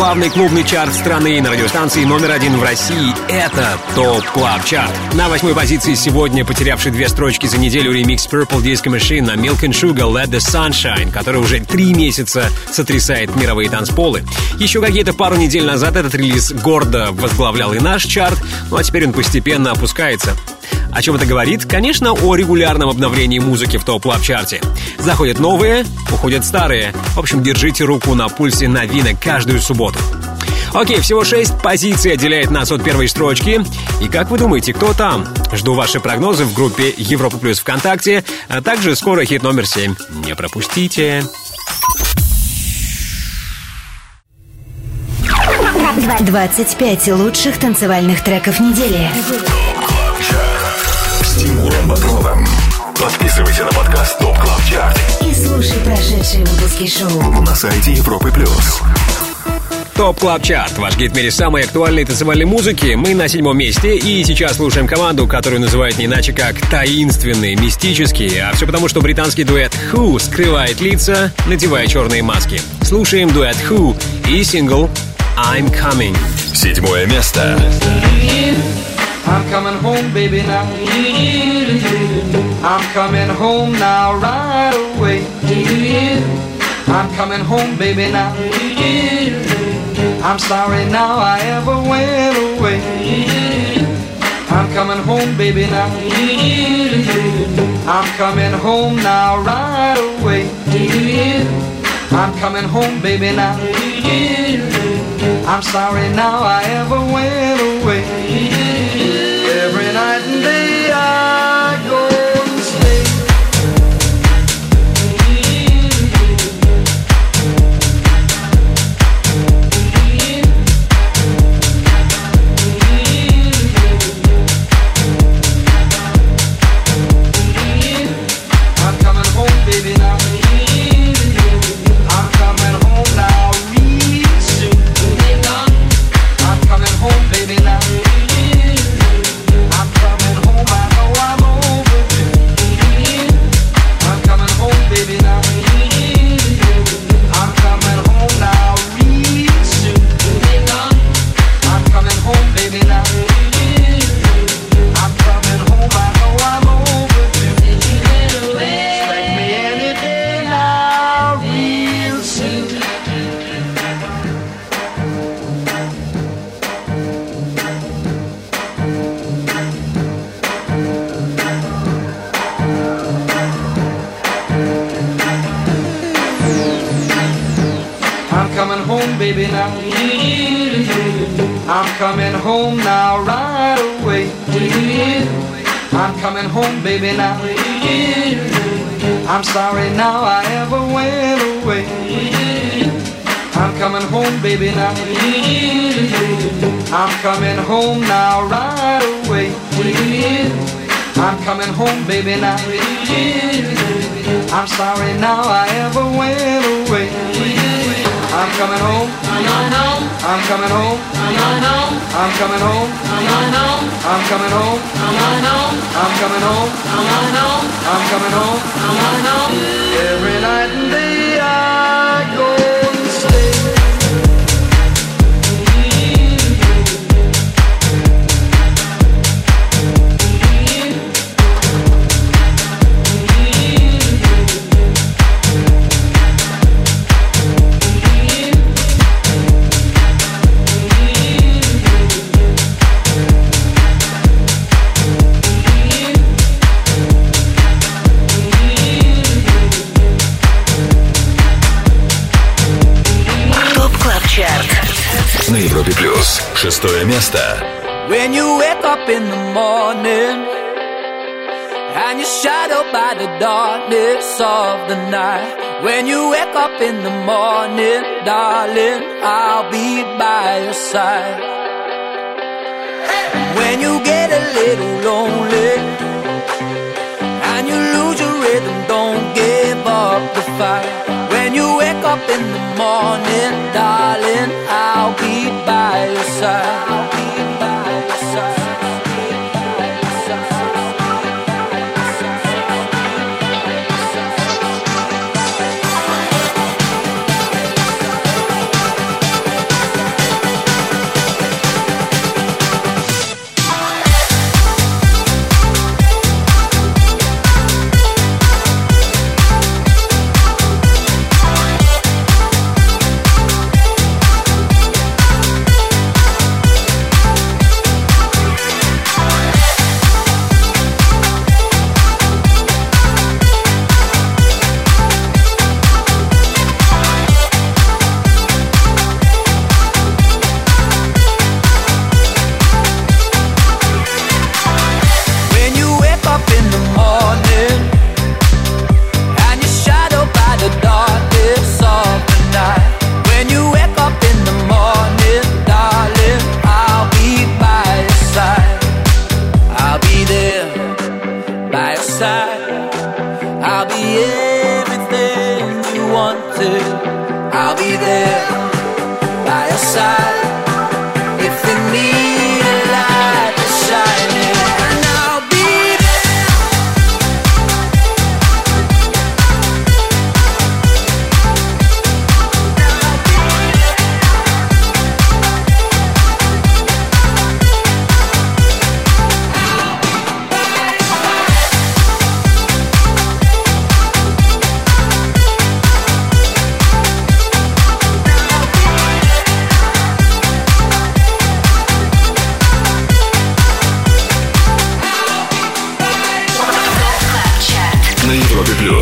главный клубный чарт страны на радиостанции номер один в России. Это ТОП Клаб Чарт. На восьмой позиции сегодня потерявший две строчки за неделю ремикс Purple Disco Machine на Milk and Sugar Let the Sunshine, который уже три месяца сотрясает мировые танцполы. Еще какие-то пару недель назад этот релиз гордо возглавлял и наш чарт, ну а теперь он постепенно опускается. О чем это говорит? Конечно, о регулярном обновлении музыки в топ-клаб-чарте. Заходят новые, уходят старые. В общем, держите руку на пульсе новинок каждую субботу. Окей, всего шесть позиций отделяет нас от первой строчки. И как вы думаете, кто там? Жду ваши прогнозы в группе Европа Плюс ВКонтакте, а также скоро хит номер семь. Не пропустите. двадцать пять лучших танцевальных треков недели. С Тимуром Бодровым. Подписывайся на подкаст Топ Клаб Чарт И слушай прошедшие выпуски шоу на сайте Европы Плюс. ТОП Клаб Чарт, ваш гид в мире самой актуальной танцевальной музыки. Мы на седьмом месте, и сейчас слушаем команду, которую называют не иначе как таинственные, мистические. А все потому, что британский дуэт Who скрывает лица, надевая черные маски. Слушаем дуэт Who и сингл I'm Coming. Седьмое место. I'm coming home, baby, now. I'm coming home now, right away. I'm coming home, baby, now. I'm sorry now I ever went away. I'm coming home, baby, now. I'm coming home now, right away. I'm coming home, baby, now. I'm sorry now I ever went away. Every night and day I go and stay. I'm coming home, baby, now. I'm coming home now real soon. I'm coming home, baby, now. I'm coming home, I know I'm overdue. I'm coming home, baby, now. I'm coming home now real soon. I'm coming home, baby, now. I'm coming home, I know I'm overdue. Expect me any day now real soon. I'm coming home, baby, now. I'm coming home now, right away. I'm coming home, baby, now. I'm sorry now I ever went away. I'm coming home, baby, now. I'm coming home now, right away. I'm coming home, baby, now. I'm sorry now I ever went away. I'm coming home. I'm coming home. I'm coming home. I'm coming home. I'm coming home. I'm coming home. Every night and day I go and stay. На Европе Плюс. Шестое место. When you wake up in the morning and you're shadowed by the darkness of the night. When you wake up in the morning, darling, I'll be by your side. When you get a little lonely and you lose your rhythm, don't give up the fight. When you wake up in the morning, darling, I'll be by your side. I'll be by your side.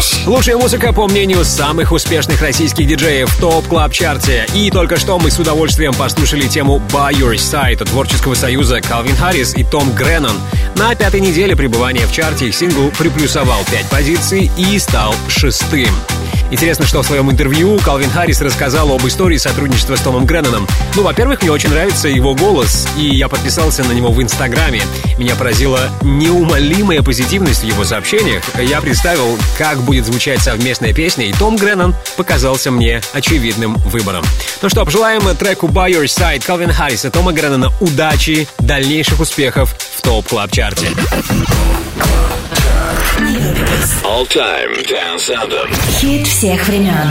Лучшая музыка, по мнению самых успешных российских диджеев в топ-клаб-чарте. И только что мы с удовольствием послушали тему «By Your Side» от творческого союза Калвин Харрис и Том Греннон. На пятой неделе пребывания в чарте их сингл приплюсовал пять позиций и стал шестым. Интересно, что в своем интервью Калвин Харрис рассказал об истории сотрудничества с Томом Гренноном. Ну, во-первых, мне очень нравится его голос, и я подписался на него в Инстаграме. Меня поразила неумолимая позитивность в его сообщениях. Я представил, как будет звучать совместная песня, и Том Греннон показался мне очевидным выбором. Ну что, пожелаем треку «By Your Side» Калвин Харриса, Тома Греннона удачи, дальнейших успехов в топ-клаб-чарте. All Time Dance Anthem. Хит всех времен.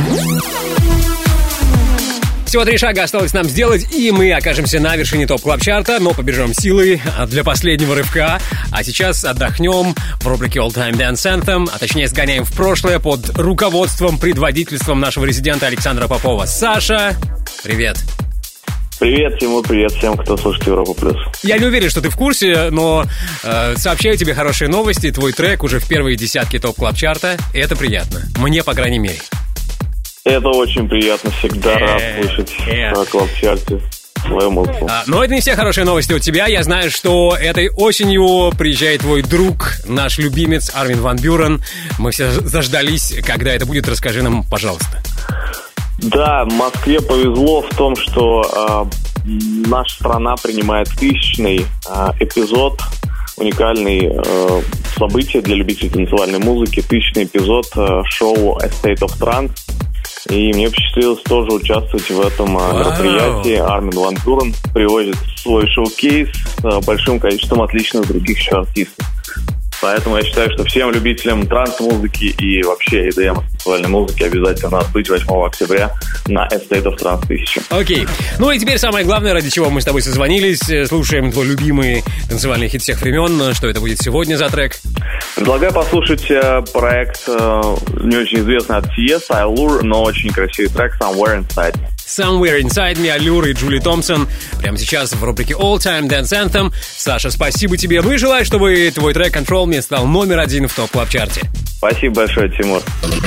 Всего три шага осталось нам сделать, и мы окажемся на вершине топ-клаб-чарта, но побежим силой для последнего рывка. А сейчас отдохнем в рубрике All Time Dance Anthem, а точнее сгоняем в прошлое под руководством, предводительством нашего резидента Александра Попова. Саша, привет. Привет, Тимур, привет всем, кто слушает Европу Плюс. Я не уверен, что ты в курсе, но э, сообщаю тебе хорошие новости. Твой трек уже в первой десятке топ-клаб-чарта, и это приятно. Мне, по крайней мере. Это очень приятно, всегда рад слышать на клаб-чарте свою музыку. А, но это не все хорошие новости у тебя. Я знаю, что этой осенью приезжает твой друг, наш любимец Армин ван Бюрен. Мы все заждались, когда это будет. Расскажи нам, пожалуйста. Да, Москве повезло в том, что э, наша страна принимает тысячный э, эпизод, уникальный э, событие для любителей танцевальной музыки, тысячный эпизод э, шоу A State of Trance. И мне посчастливилось тоже участвовать в этом э, мероприятии. Армин ван Бюрен привозит свой шоу-кейс с э, большим количеством отличных других еще артистов. Поэтому я считаю, что всем любителям транс-музыки и вообще и ди эм танцевальной музыки обязательно надо быть восьмого октября на A State of Trance тысяча. Окей. Ну и теперь самое главное, ради чего мы с тобой созвонились. Слушаем твой любимый танцевальный хит всех времен. Что это будет сегодня за трек? Предлагаю послушать э, проект э, не очень известный от Си Эс, Allure, но очень красивый трек Somewhere Inside Me. Somewhere Inside Me, Allure и Джули Томпсон. Прямо сейчас в рубрике All Time Dance Anthem. Саша, спасибо тебе. Ну и желаю, чтобы твой трек Control Me стал номер один в топ-клаб-чарте. Спасибо большое, Тимур.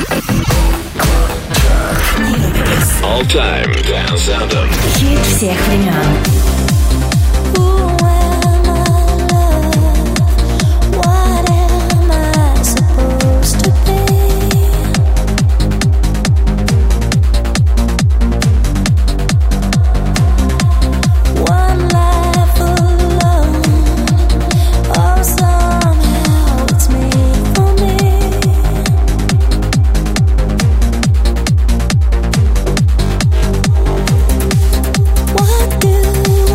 All Time Dance Anthem. Хит всех времен. What do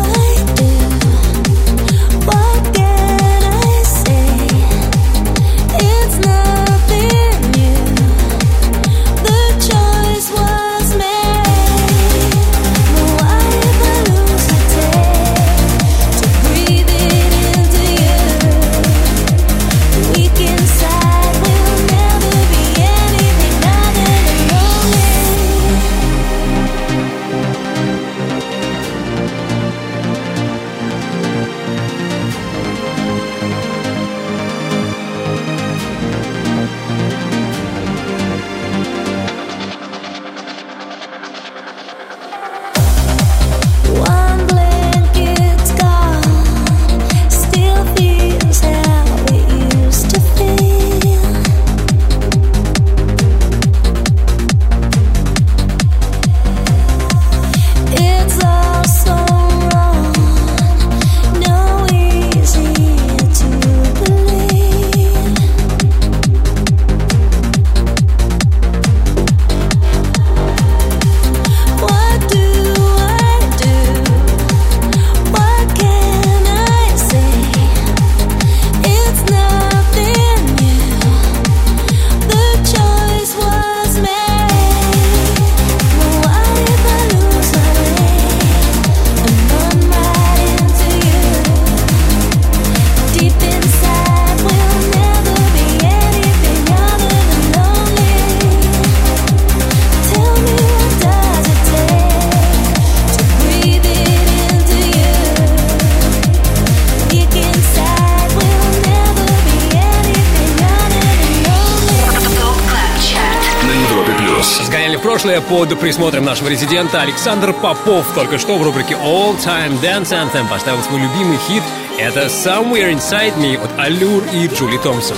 прошлое под присмотром нашего резидента Александр Попов только что в рубрике All Time Dance Anthem поставил свой любимый хит. Это Somewhere Inside Me от Allure и Джули Томпсон.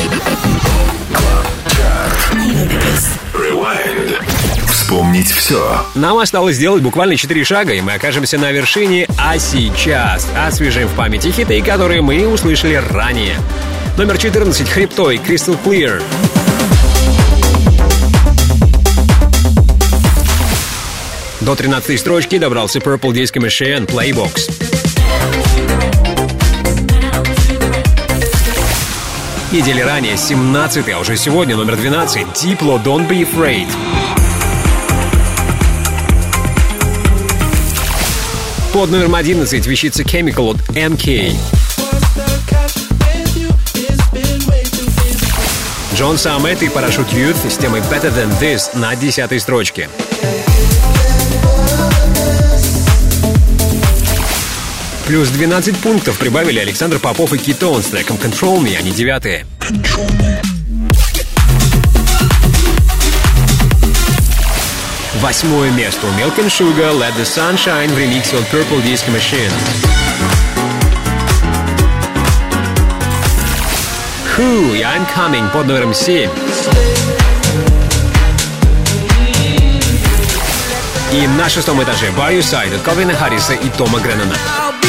Rewind. Вспомнить все. Нам осталось сделать буквально четыре шага, и мы окажемся на вершине. А сейчас освежим в памяти хиты, которые мы услышали ранее. Номер четырнадцать. Хриптой. Crystal Clear. До тринадцатой строчки добрался Purple Disco Machine. Playbox. Недели ранее, семнадцатый, а уже сегодня номер двенадцать. Diplo, Don't Be Afraid. Под номером одиннадцать вещица Chemical от эм кей. Джон Саммет и Parachute Youth с темой Better Than This на десятой строчке. Плюс двенадцать пунктов прибавили Александр Попов и Китон с треком Control Me, они девятые. Восьмое место у Milk and Sugar, Let the Sunshine в ремиксе от Purple Disco Machine. Who, I'm Coming под номером семь. И на шестом этаже By Your Side от Калвина Харриса и Тома Греннона.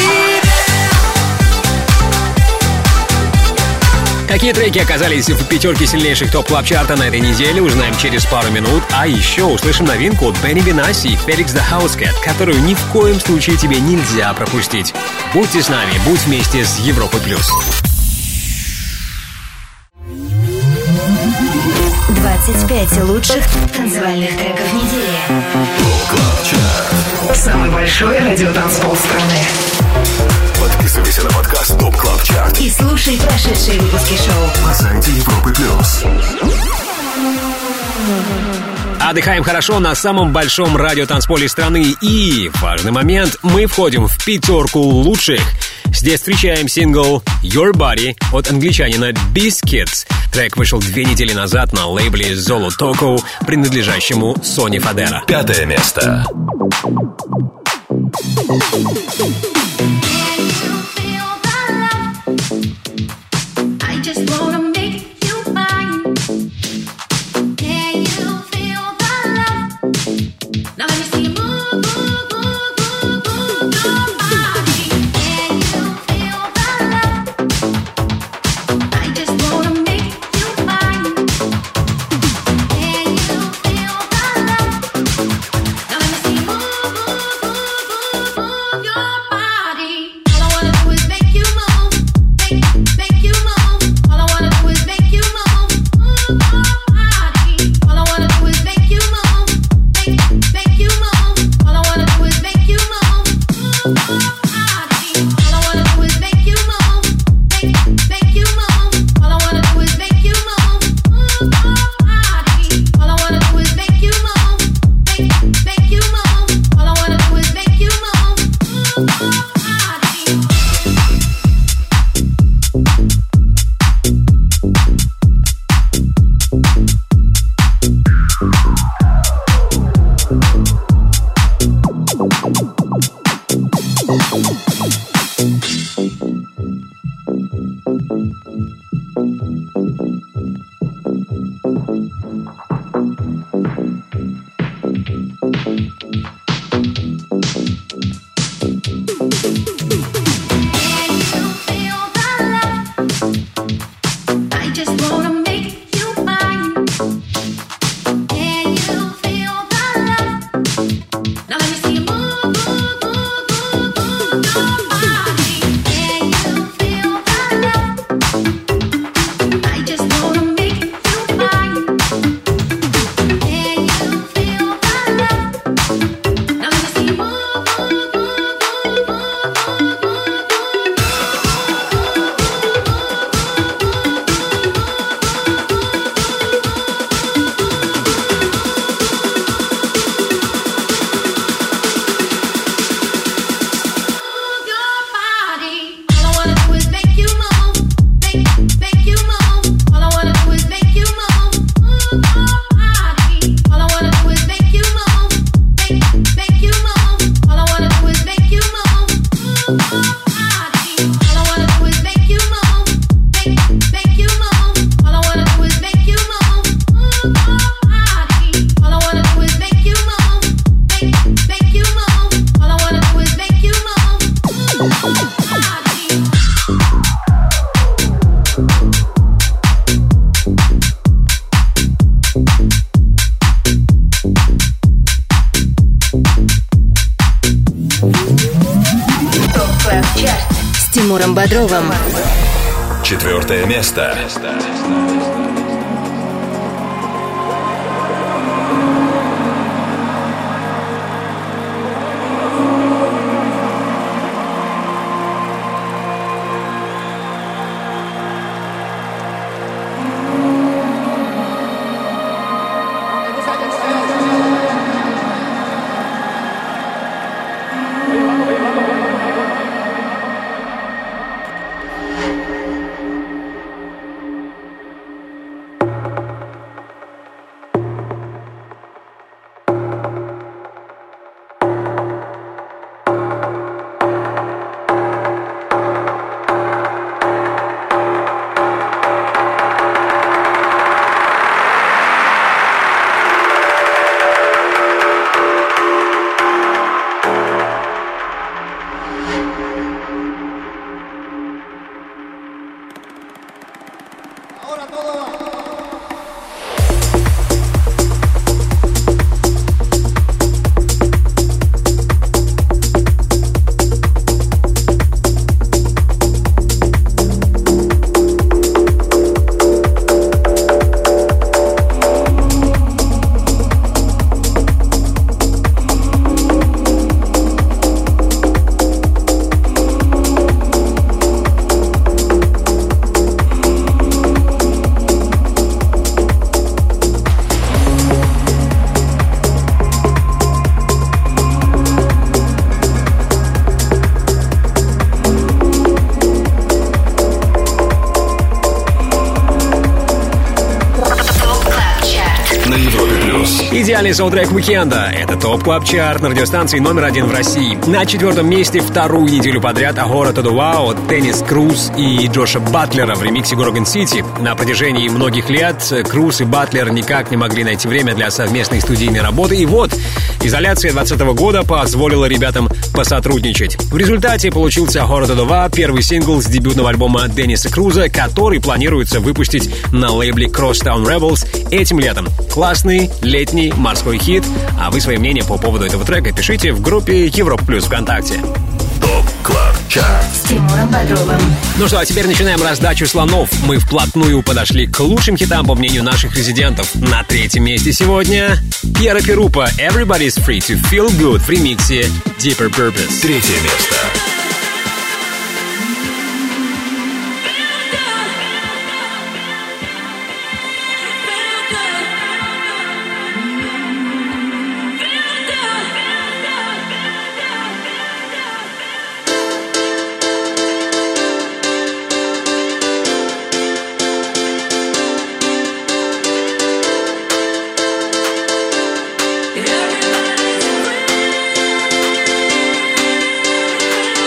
Какие треки оказались в пятерке сильнейших топ-клаб-чарта на этой неделе, узнаем через пару минут. А еще услышим новинку от Бенни Бенаси и Felix the Housecat, которую ни в коем случае тебе нельзя пропустить. Будьте с нами, будь вместе с Европой плюс. двадцать пять лучших танцевальных треков недели. Самый большой радиотанцпол страны. Подписывайся на подкаст Топ Клаб Чарт И слушай прошедшие выпуски шоу на сайте Европы плюс. Отдыхаем хорошо на самом большом радиотанцполе страны. И важный момент, мы входим в пятерку лучших. Здесь встречаем сингл Your Body от англичанина Biscuits. Трек вышел две недели назад на лейбле Zolo Toco, принадлежащему Сони Фадера. Пятое место. Тимуром Бодровым. Четвертое место. Идеальный саундтрек уикенда. Это ТОП Клаб Чарт на радиостанции номер один в России. На четвертом месте вторую неделю подряд Агора Todo Wow от Деннис Круз и Джоша Батлера в ремиксе Gorgon City. На протяжении многих лет Круз и Батлер никак не могли найти время для совместной студийной работы. И вот, изоляция двадцатого года позволила ребятам посотрудничать. В результате получился Агора Todo Wow, первый сингл с дебютного альбома Денниса Круза, который планируется выпустить на лейбле Crosstown Rebels этим летом. Классный летний морской хит. А вы свое мнение по поводу этого трека пишите в группе Европа Плюс ВКонтакте. ТОП Клаб Чарт С Тимуром Бодровым. Ну что, а теперь начинаем раздачу слонов. Мы вплотную подошли к лучшим хитам, по мнению наших резидентов. На третьем месте сегодня Пьера Перупа Everybody's Free to Feel Good в ремиксе Deeper Purpose. Третье место. Everybody's free.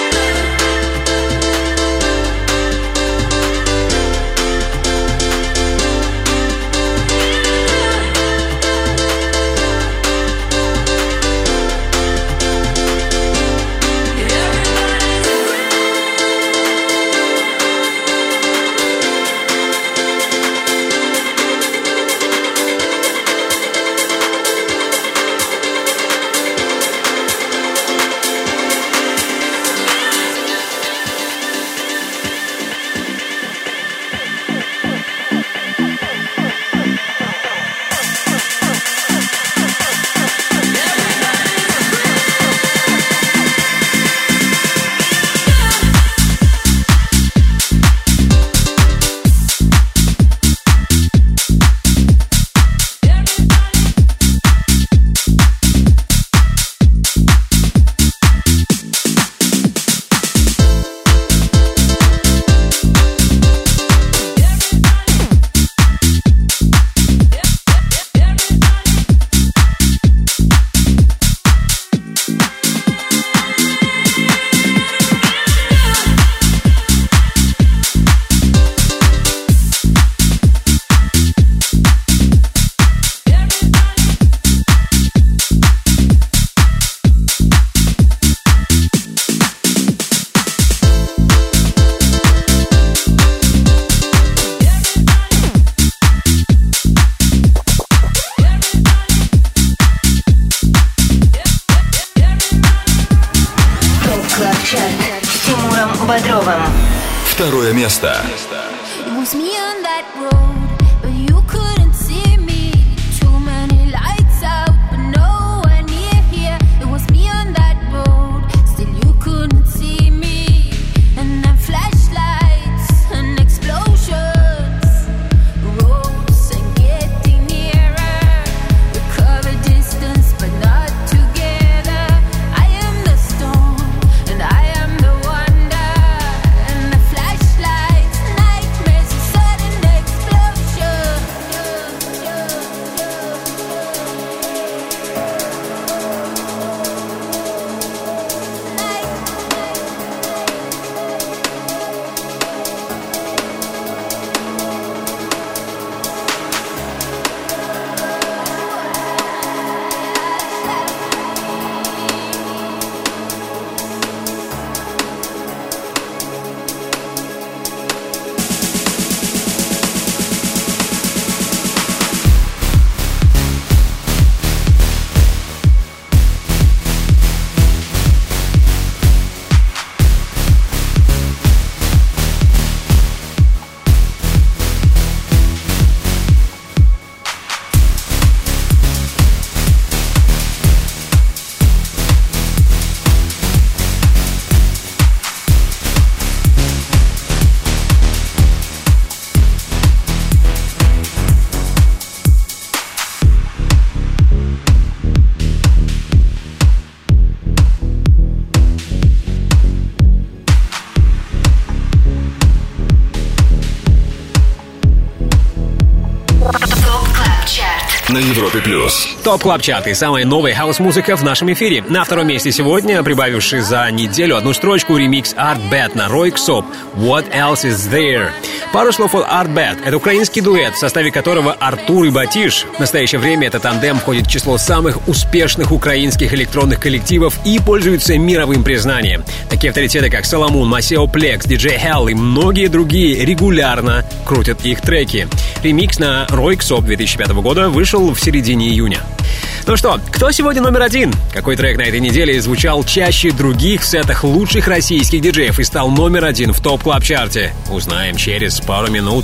Тимуром Бодровым. Второе место. It was me on that road, but you couldn't see me. Too many lights out, but no one near here. It was me on that road, still you couldn't see me. And then flashlights and explosions, ropes and getting nearer. We cover distance, but not together. I am the storm, and I am the wonder. And the flashlights, nightmares, a sudden explosion. На Европе плюс. Топ Клаб Чарт и самая новая хаус-музыка в нашем эфире. На втором месте сегодня, прибавивший за неделю одну строчку, ремикс Art Bad на Ройксоп «What Else Is There». Пару слов о Art Bad. Это украинский дуэт, в составе которого Артур и Батиш. В настоящее время этот тандем входит в число самых успешных украинских электронных коллективов и пользуется мировым признанием. Такие авторитеты, как Соломон, Масео Плекс, диджей Hell и многие другие регулярно крутят их треки. Ремикс на Ройксоп две тысячи пятого года вышел в середине июня. Ну что, кто сегодня номер один? Какой трек на этой неделе звучал чаще других в сетах лучших российских диджеев и стал номер один в Топ Клаб Чарте? Узнаем через пару минут.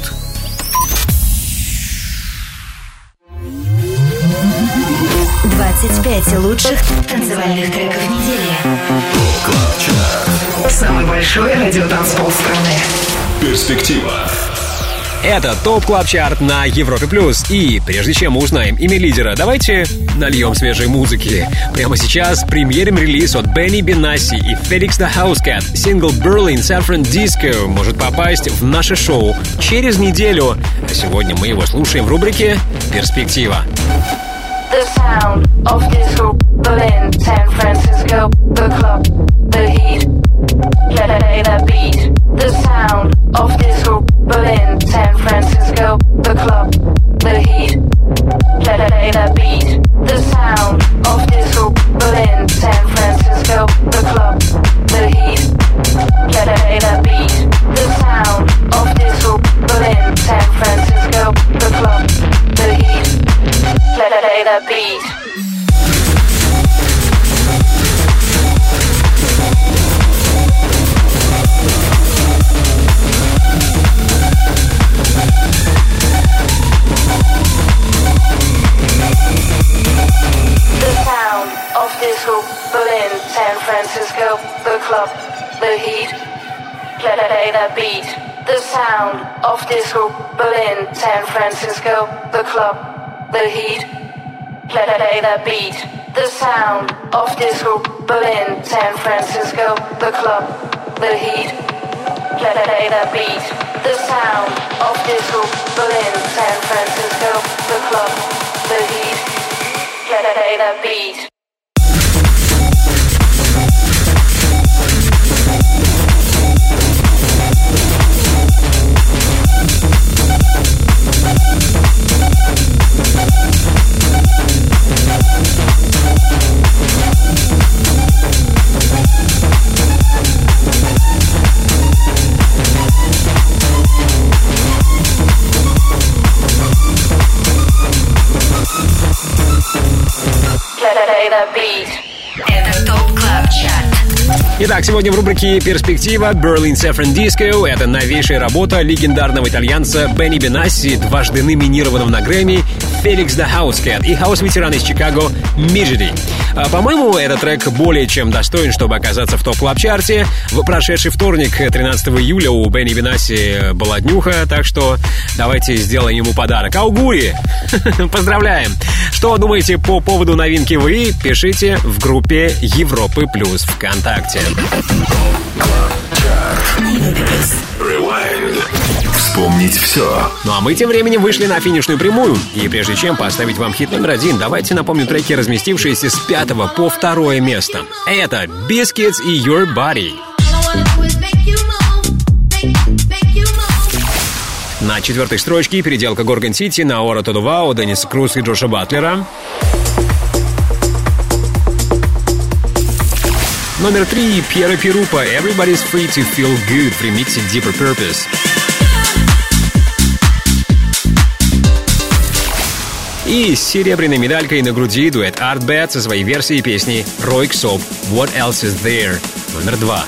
двадцать пять лучших танцевальных треков недели. Топ Клаб Чарт. Самый большой радиотанцпол страны. Перспектива. Это ТОП Клаб Чарт на Европе Плюс. И прежде чем мы узнаем имя лидера, давайте нальем свежей музыки. Прямо сейчас премьерим релиз от Бенни Бенасси и Felix the Housecat. Сингл Berlin San Francisco может попасть в наше шоу через неделю. А сегодня мы его слушаем в рубрике «Перспектива». The sound of disco, Berlin, San Francisco, the club, the heat, play that beat. The sound of disco, Berlin, San Francisco, the club, the heat, play that beat. The sound of disco, Berlin, San Francisco, the club, the heat, play that beat. The sound of disco, Berlin, San Francisco, the club, the heat, play that beat. Disco, Berlin, San Francisco, the club, the heat, play that beat. The sound of disco, Berlin, San Francisco, the club, the heat, play that beat. The sound of disco, Berlin, San Francisco, the club, the heat, play that beat. The sound of disco, Berlin, San Francisco, the club, the heat, play that beat. Это ТОП Клаб Чарт. Итак, сегодня в рубрике «Перспектива» Berlin Saffron Disco. Это новейшая работа легендарного итальянца Бенни Бенасси, дважды номинированного на Грэмми, Феликс the Housecat и хаус-ветеран из Чикаго Миджиди. А, по-моему, этот трек более чем достоин, чтобы оказаться в топ-клаб-чарте. В прошедший вторник, тринадцатого июля, у Бенни Бенасси была днюха, так что давайте сделаем ему подарок. Аугури! Поздравляем! Что думаете по поводу новинки вы? Пишите в группе Европы Плюс ВКонтакте. Rewind. Вспомнить все. Ну а мы тем временем вышли на финишную прямую. И прежде чем поставить вам хит номер один, давайте напомню треки, разместившиеся с пятого по второе место. Это Biscuits и Your Body. На четвертой строчке переделка Горгон Сити на Ора Тодувау, Денниса Круз и Джоша Батлера. Номер три. Пьера Пирупа Everybody's Free to Feel Good в ремиксе Deeper Purpose. И с серебряной медалькой на груди дуэт Art Bad со своей версией песни Рой Ксоп What Else Is There номер два.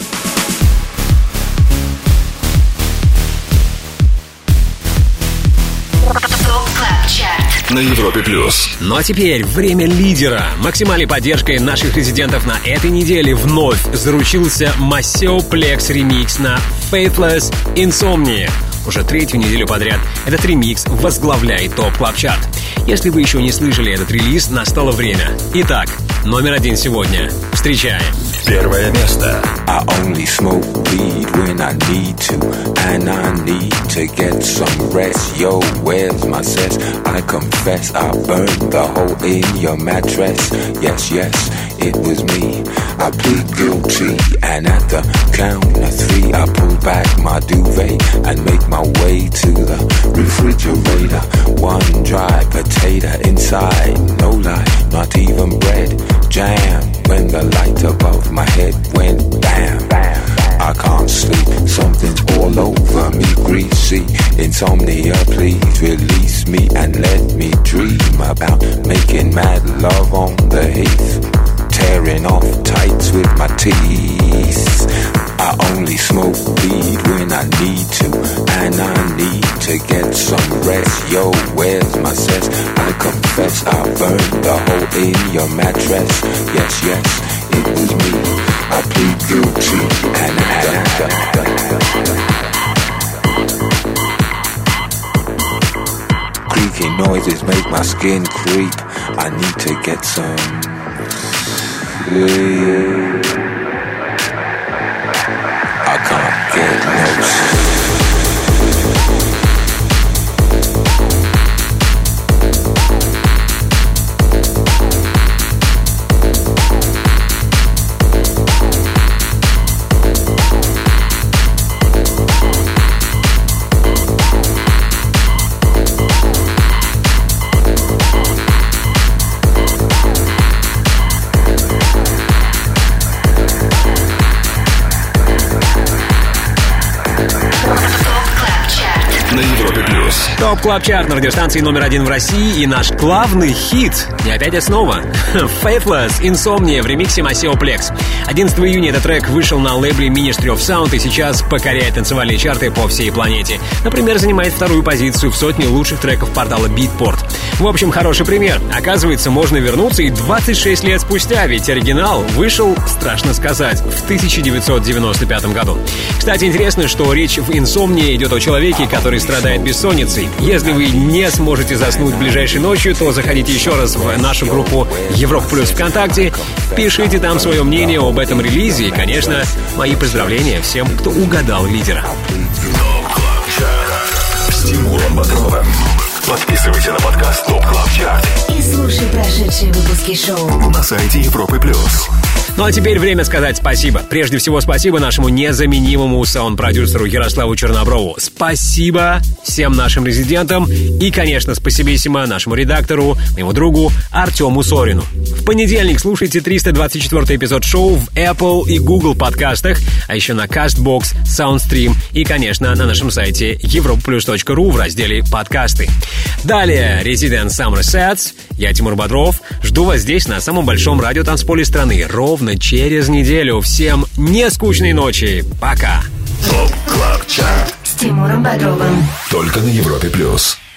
На Европе Плюс. Ну а теперь время лидера. Максимальной поддержкой наших резидентов на этой неделе вновь заручился Maceo Plex ремикс на Faithless Insomnia. Уже третью неделю подряд этот ремикс возглавляет топ-клаб-чарт. Если вы еще не слышали этот релиз, настало время. Итак, номер один сегодня. Встречаем. Первое место. I only smoke weed when I need to, and I need to get some rest. Yo, where's my cess? I confess I burned the hole in your mattress. Yes, yes, it was me. I plead guilty, and at the count of three, I pull back my duvet and make my way to the refrigerator. One dry potato inside, no lie, not even bread. Jam when the light above my head went bam, bam. I can't sleep, something's all over me, greasy. Insomnia, please release me and let me dream about making mad love on the heath, tearing off tights with my teeth. I only smoke weed when I need to, and I need to get some rest. Yo, where's my cess? I confess I burned the hole in your mattress. Yes, yes, it was me. I plead guilty, and I done, done, done. Creaky noises make my skin creep. I need to get some sleep. I can't get no sleep. Топ Клаб Чарт на радиостанции номер один в России и наш главный хит. И опять основа. Faithless Insomnia в ремиксе Maceo Plex. одиннадцатого июня этот трек вышел на лейбле Ministry of Sound и сейчас покоряет танцевальные чарты по всей планете. Например, занимает вторую позицию в сотне лучших треков портала Beatport. В общем, хороший пример. Оказывается, можно вернуться и двадцать шесть лет спустя, ведь оригинал вышел, страшно сказать, в тысяча девятьсот девяносто пятом году. Кстати, интересно, что речь в Insomnia идет о человеке, который страдает бессонницей. Если вы не сможете заснуть ближайшей ночью, то заходите еще раз в нашу группу Европа Плюс ВКонтакте, пишите там свое мнение об этом релизе и, конечно, мои поздравления всем, кто угадал лидера. С Тимуром Бодровым. Подписывайся на подкаст Топ Клаб Чарт и слушай прошедшие выпуски шоу на сайте Европы Плюс. Ну а теперь время сказать спасибо. Прежде всего, спасибо нашему незаменимому саунд-продюсеру Ярославу Черноброву. Спасибо всем нашим резидентам. И, конечно, спасибиссимо нашему редактору, моему другу Артему Сорину. В понедельник слушайте триста двадцать четвёртый эпизод шоу в Apple и Google подкастах, а еще на CastBox, SoundStream и, конечно, на нашем сайте европа плюс точка ру в разделе «Подкасты». Далее Resident Summer Sets. Я Тимур Бодров. Жду вас здесь, на самом большом радиотанцполе страны, ровно через неделю. Всем нескучной ночи. Пока. Топ Клаб Чарт С Тимуром Бодровым. только на Европе плюс.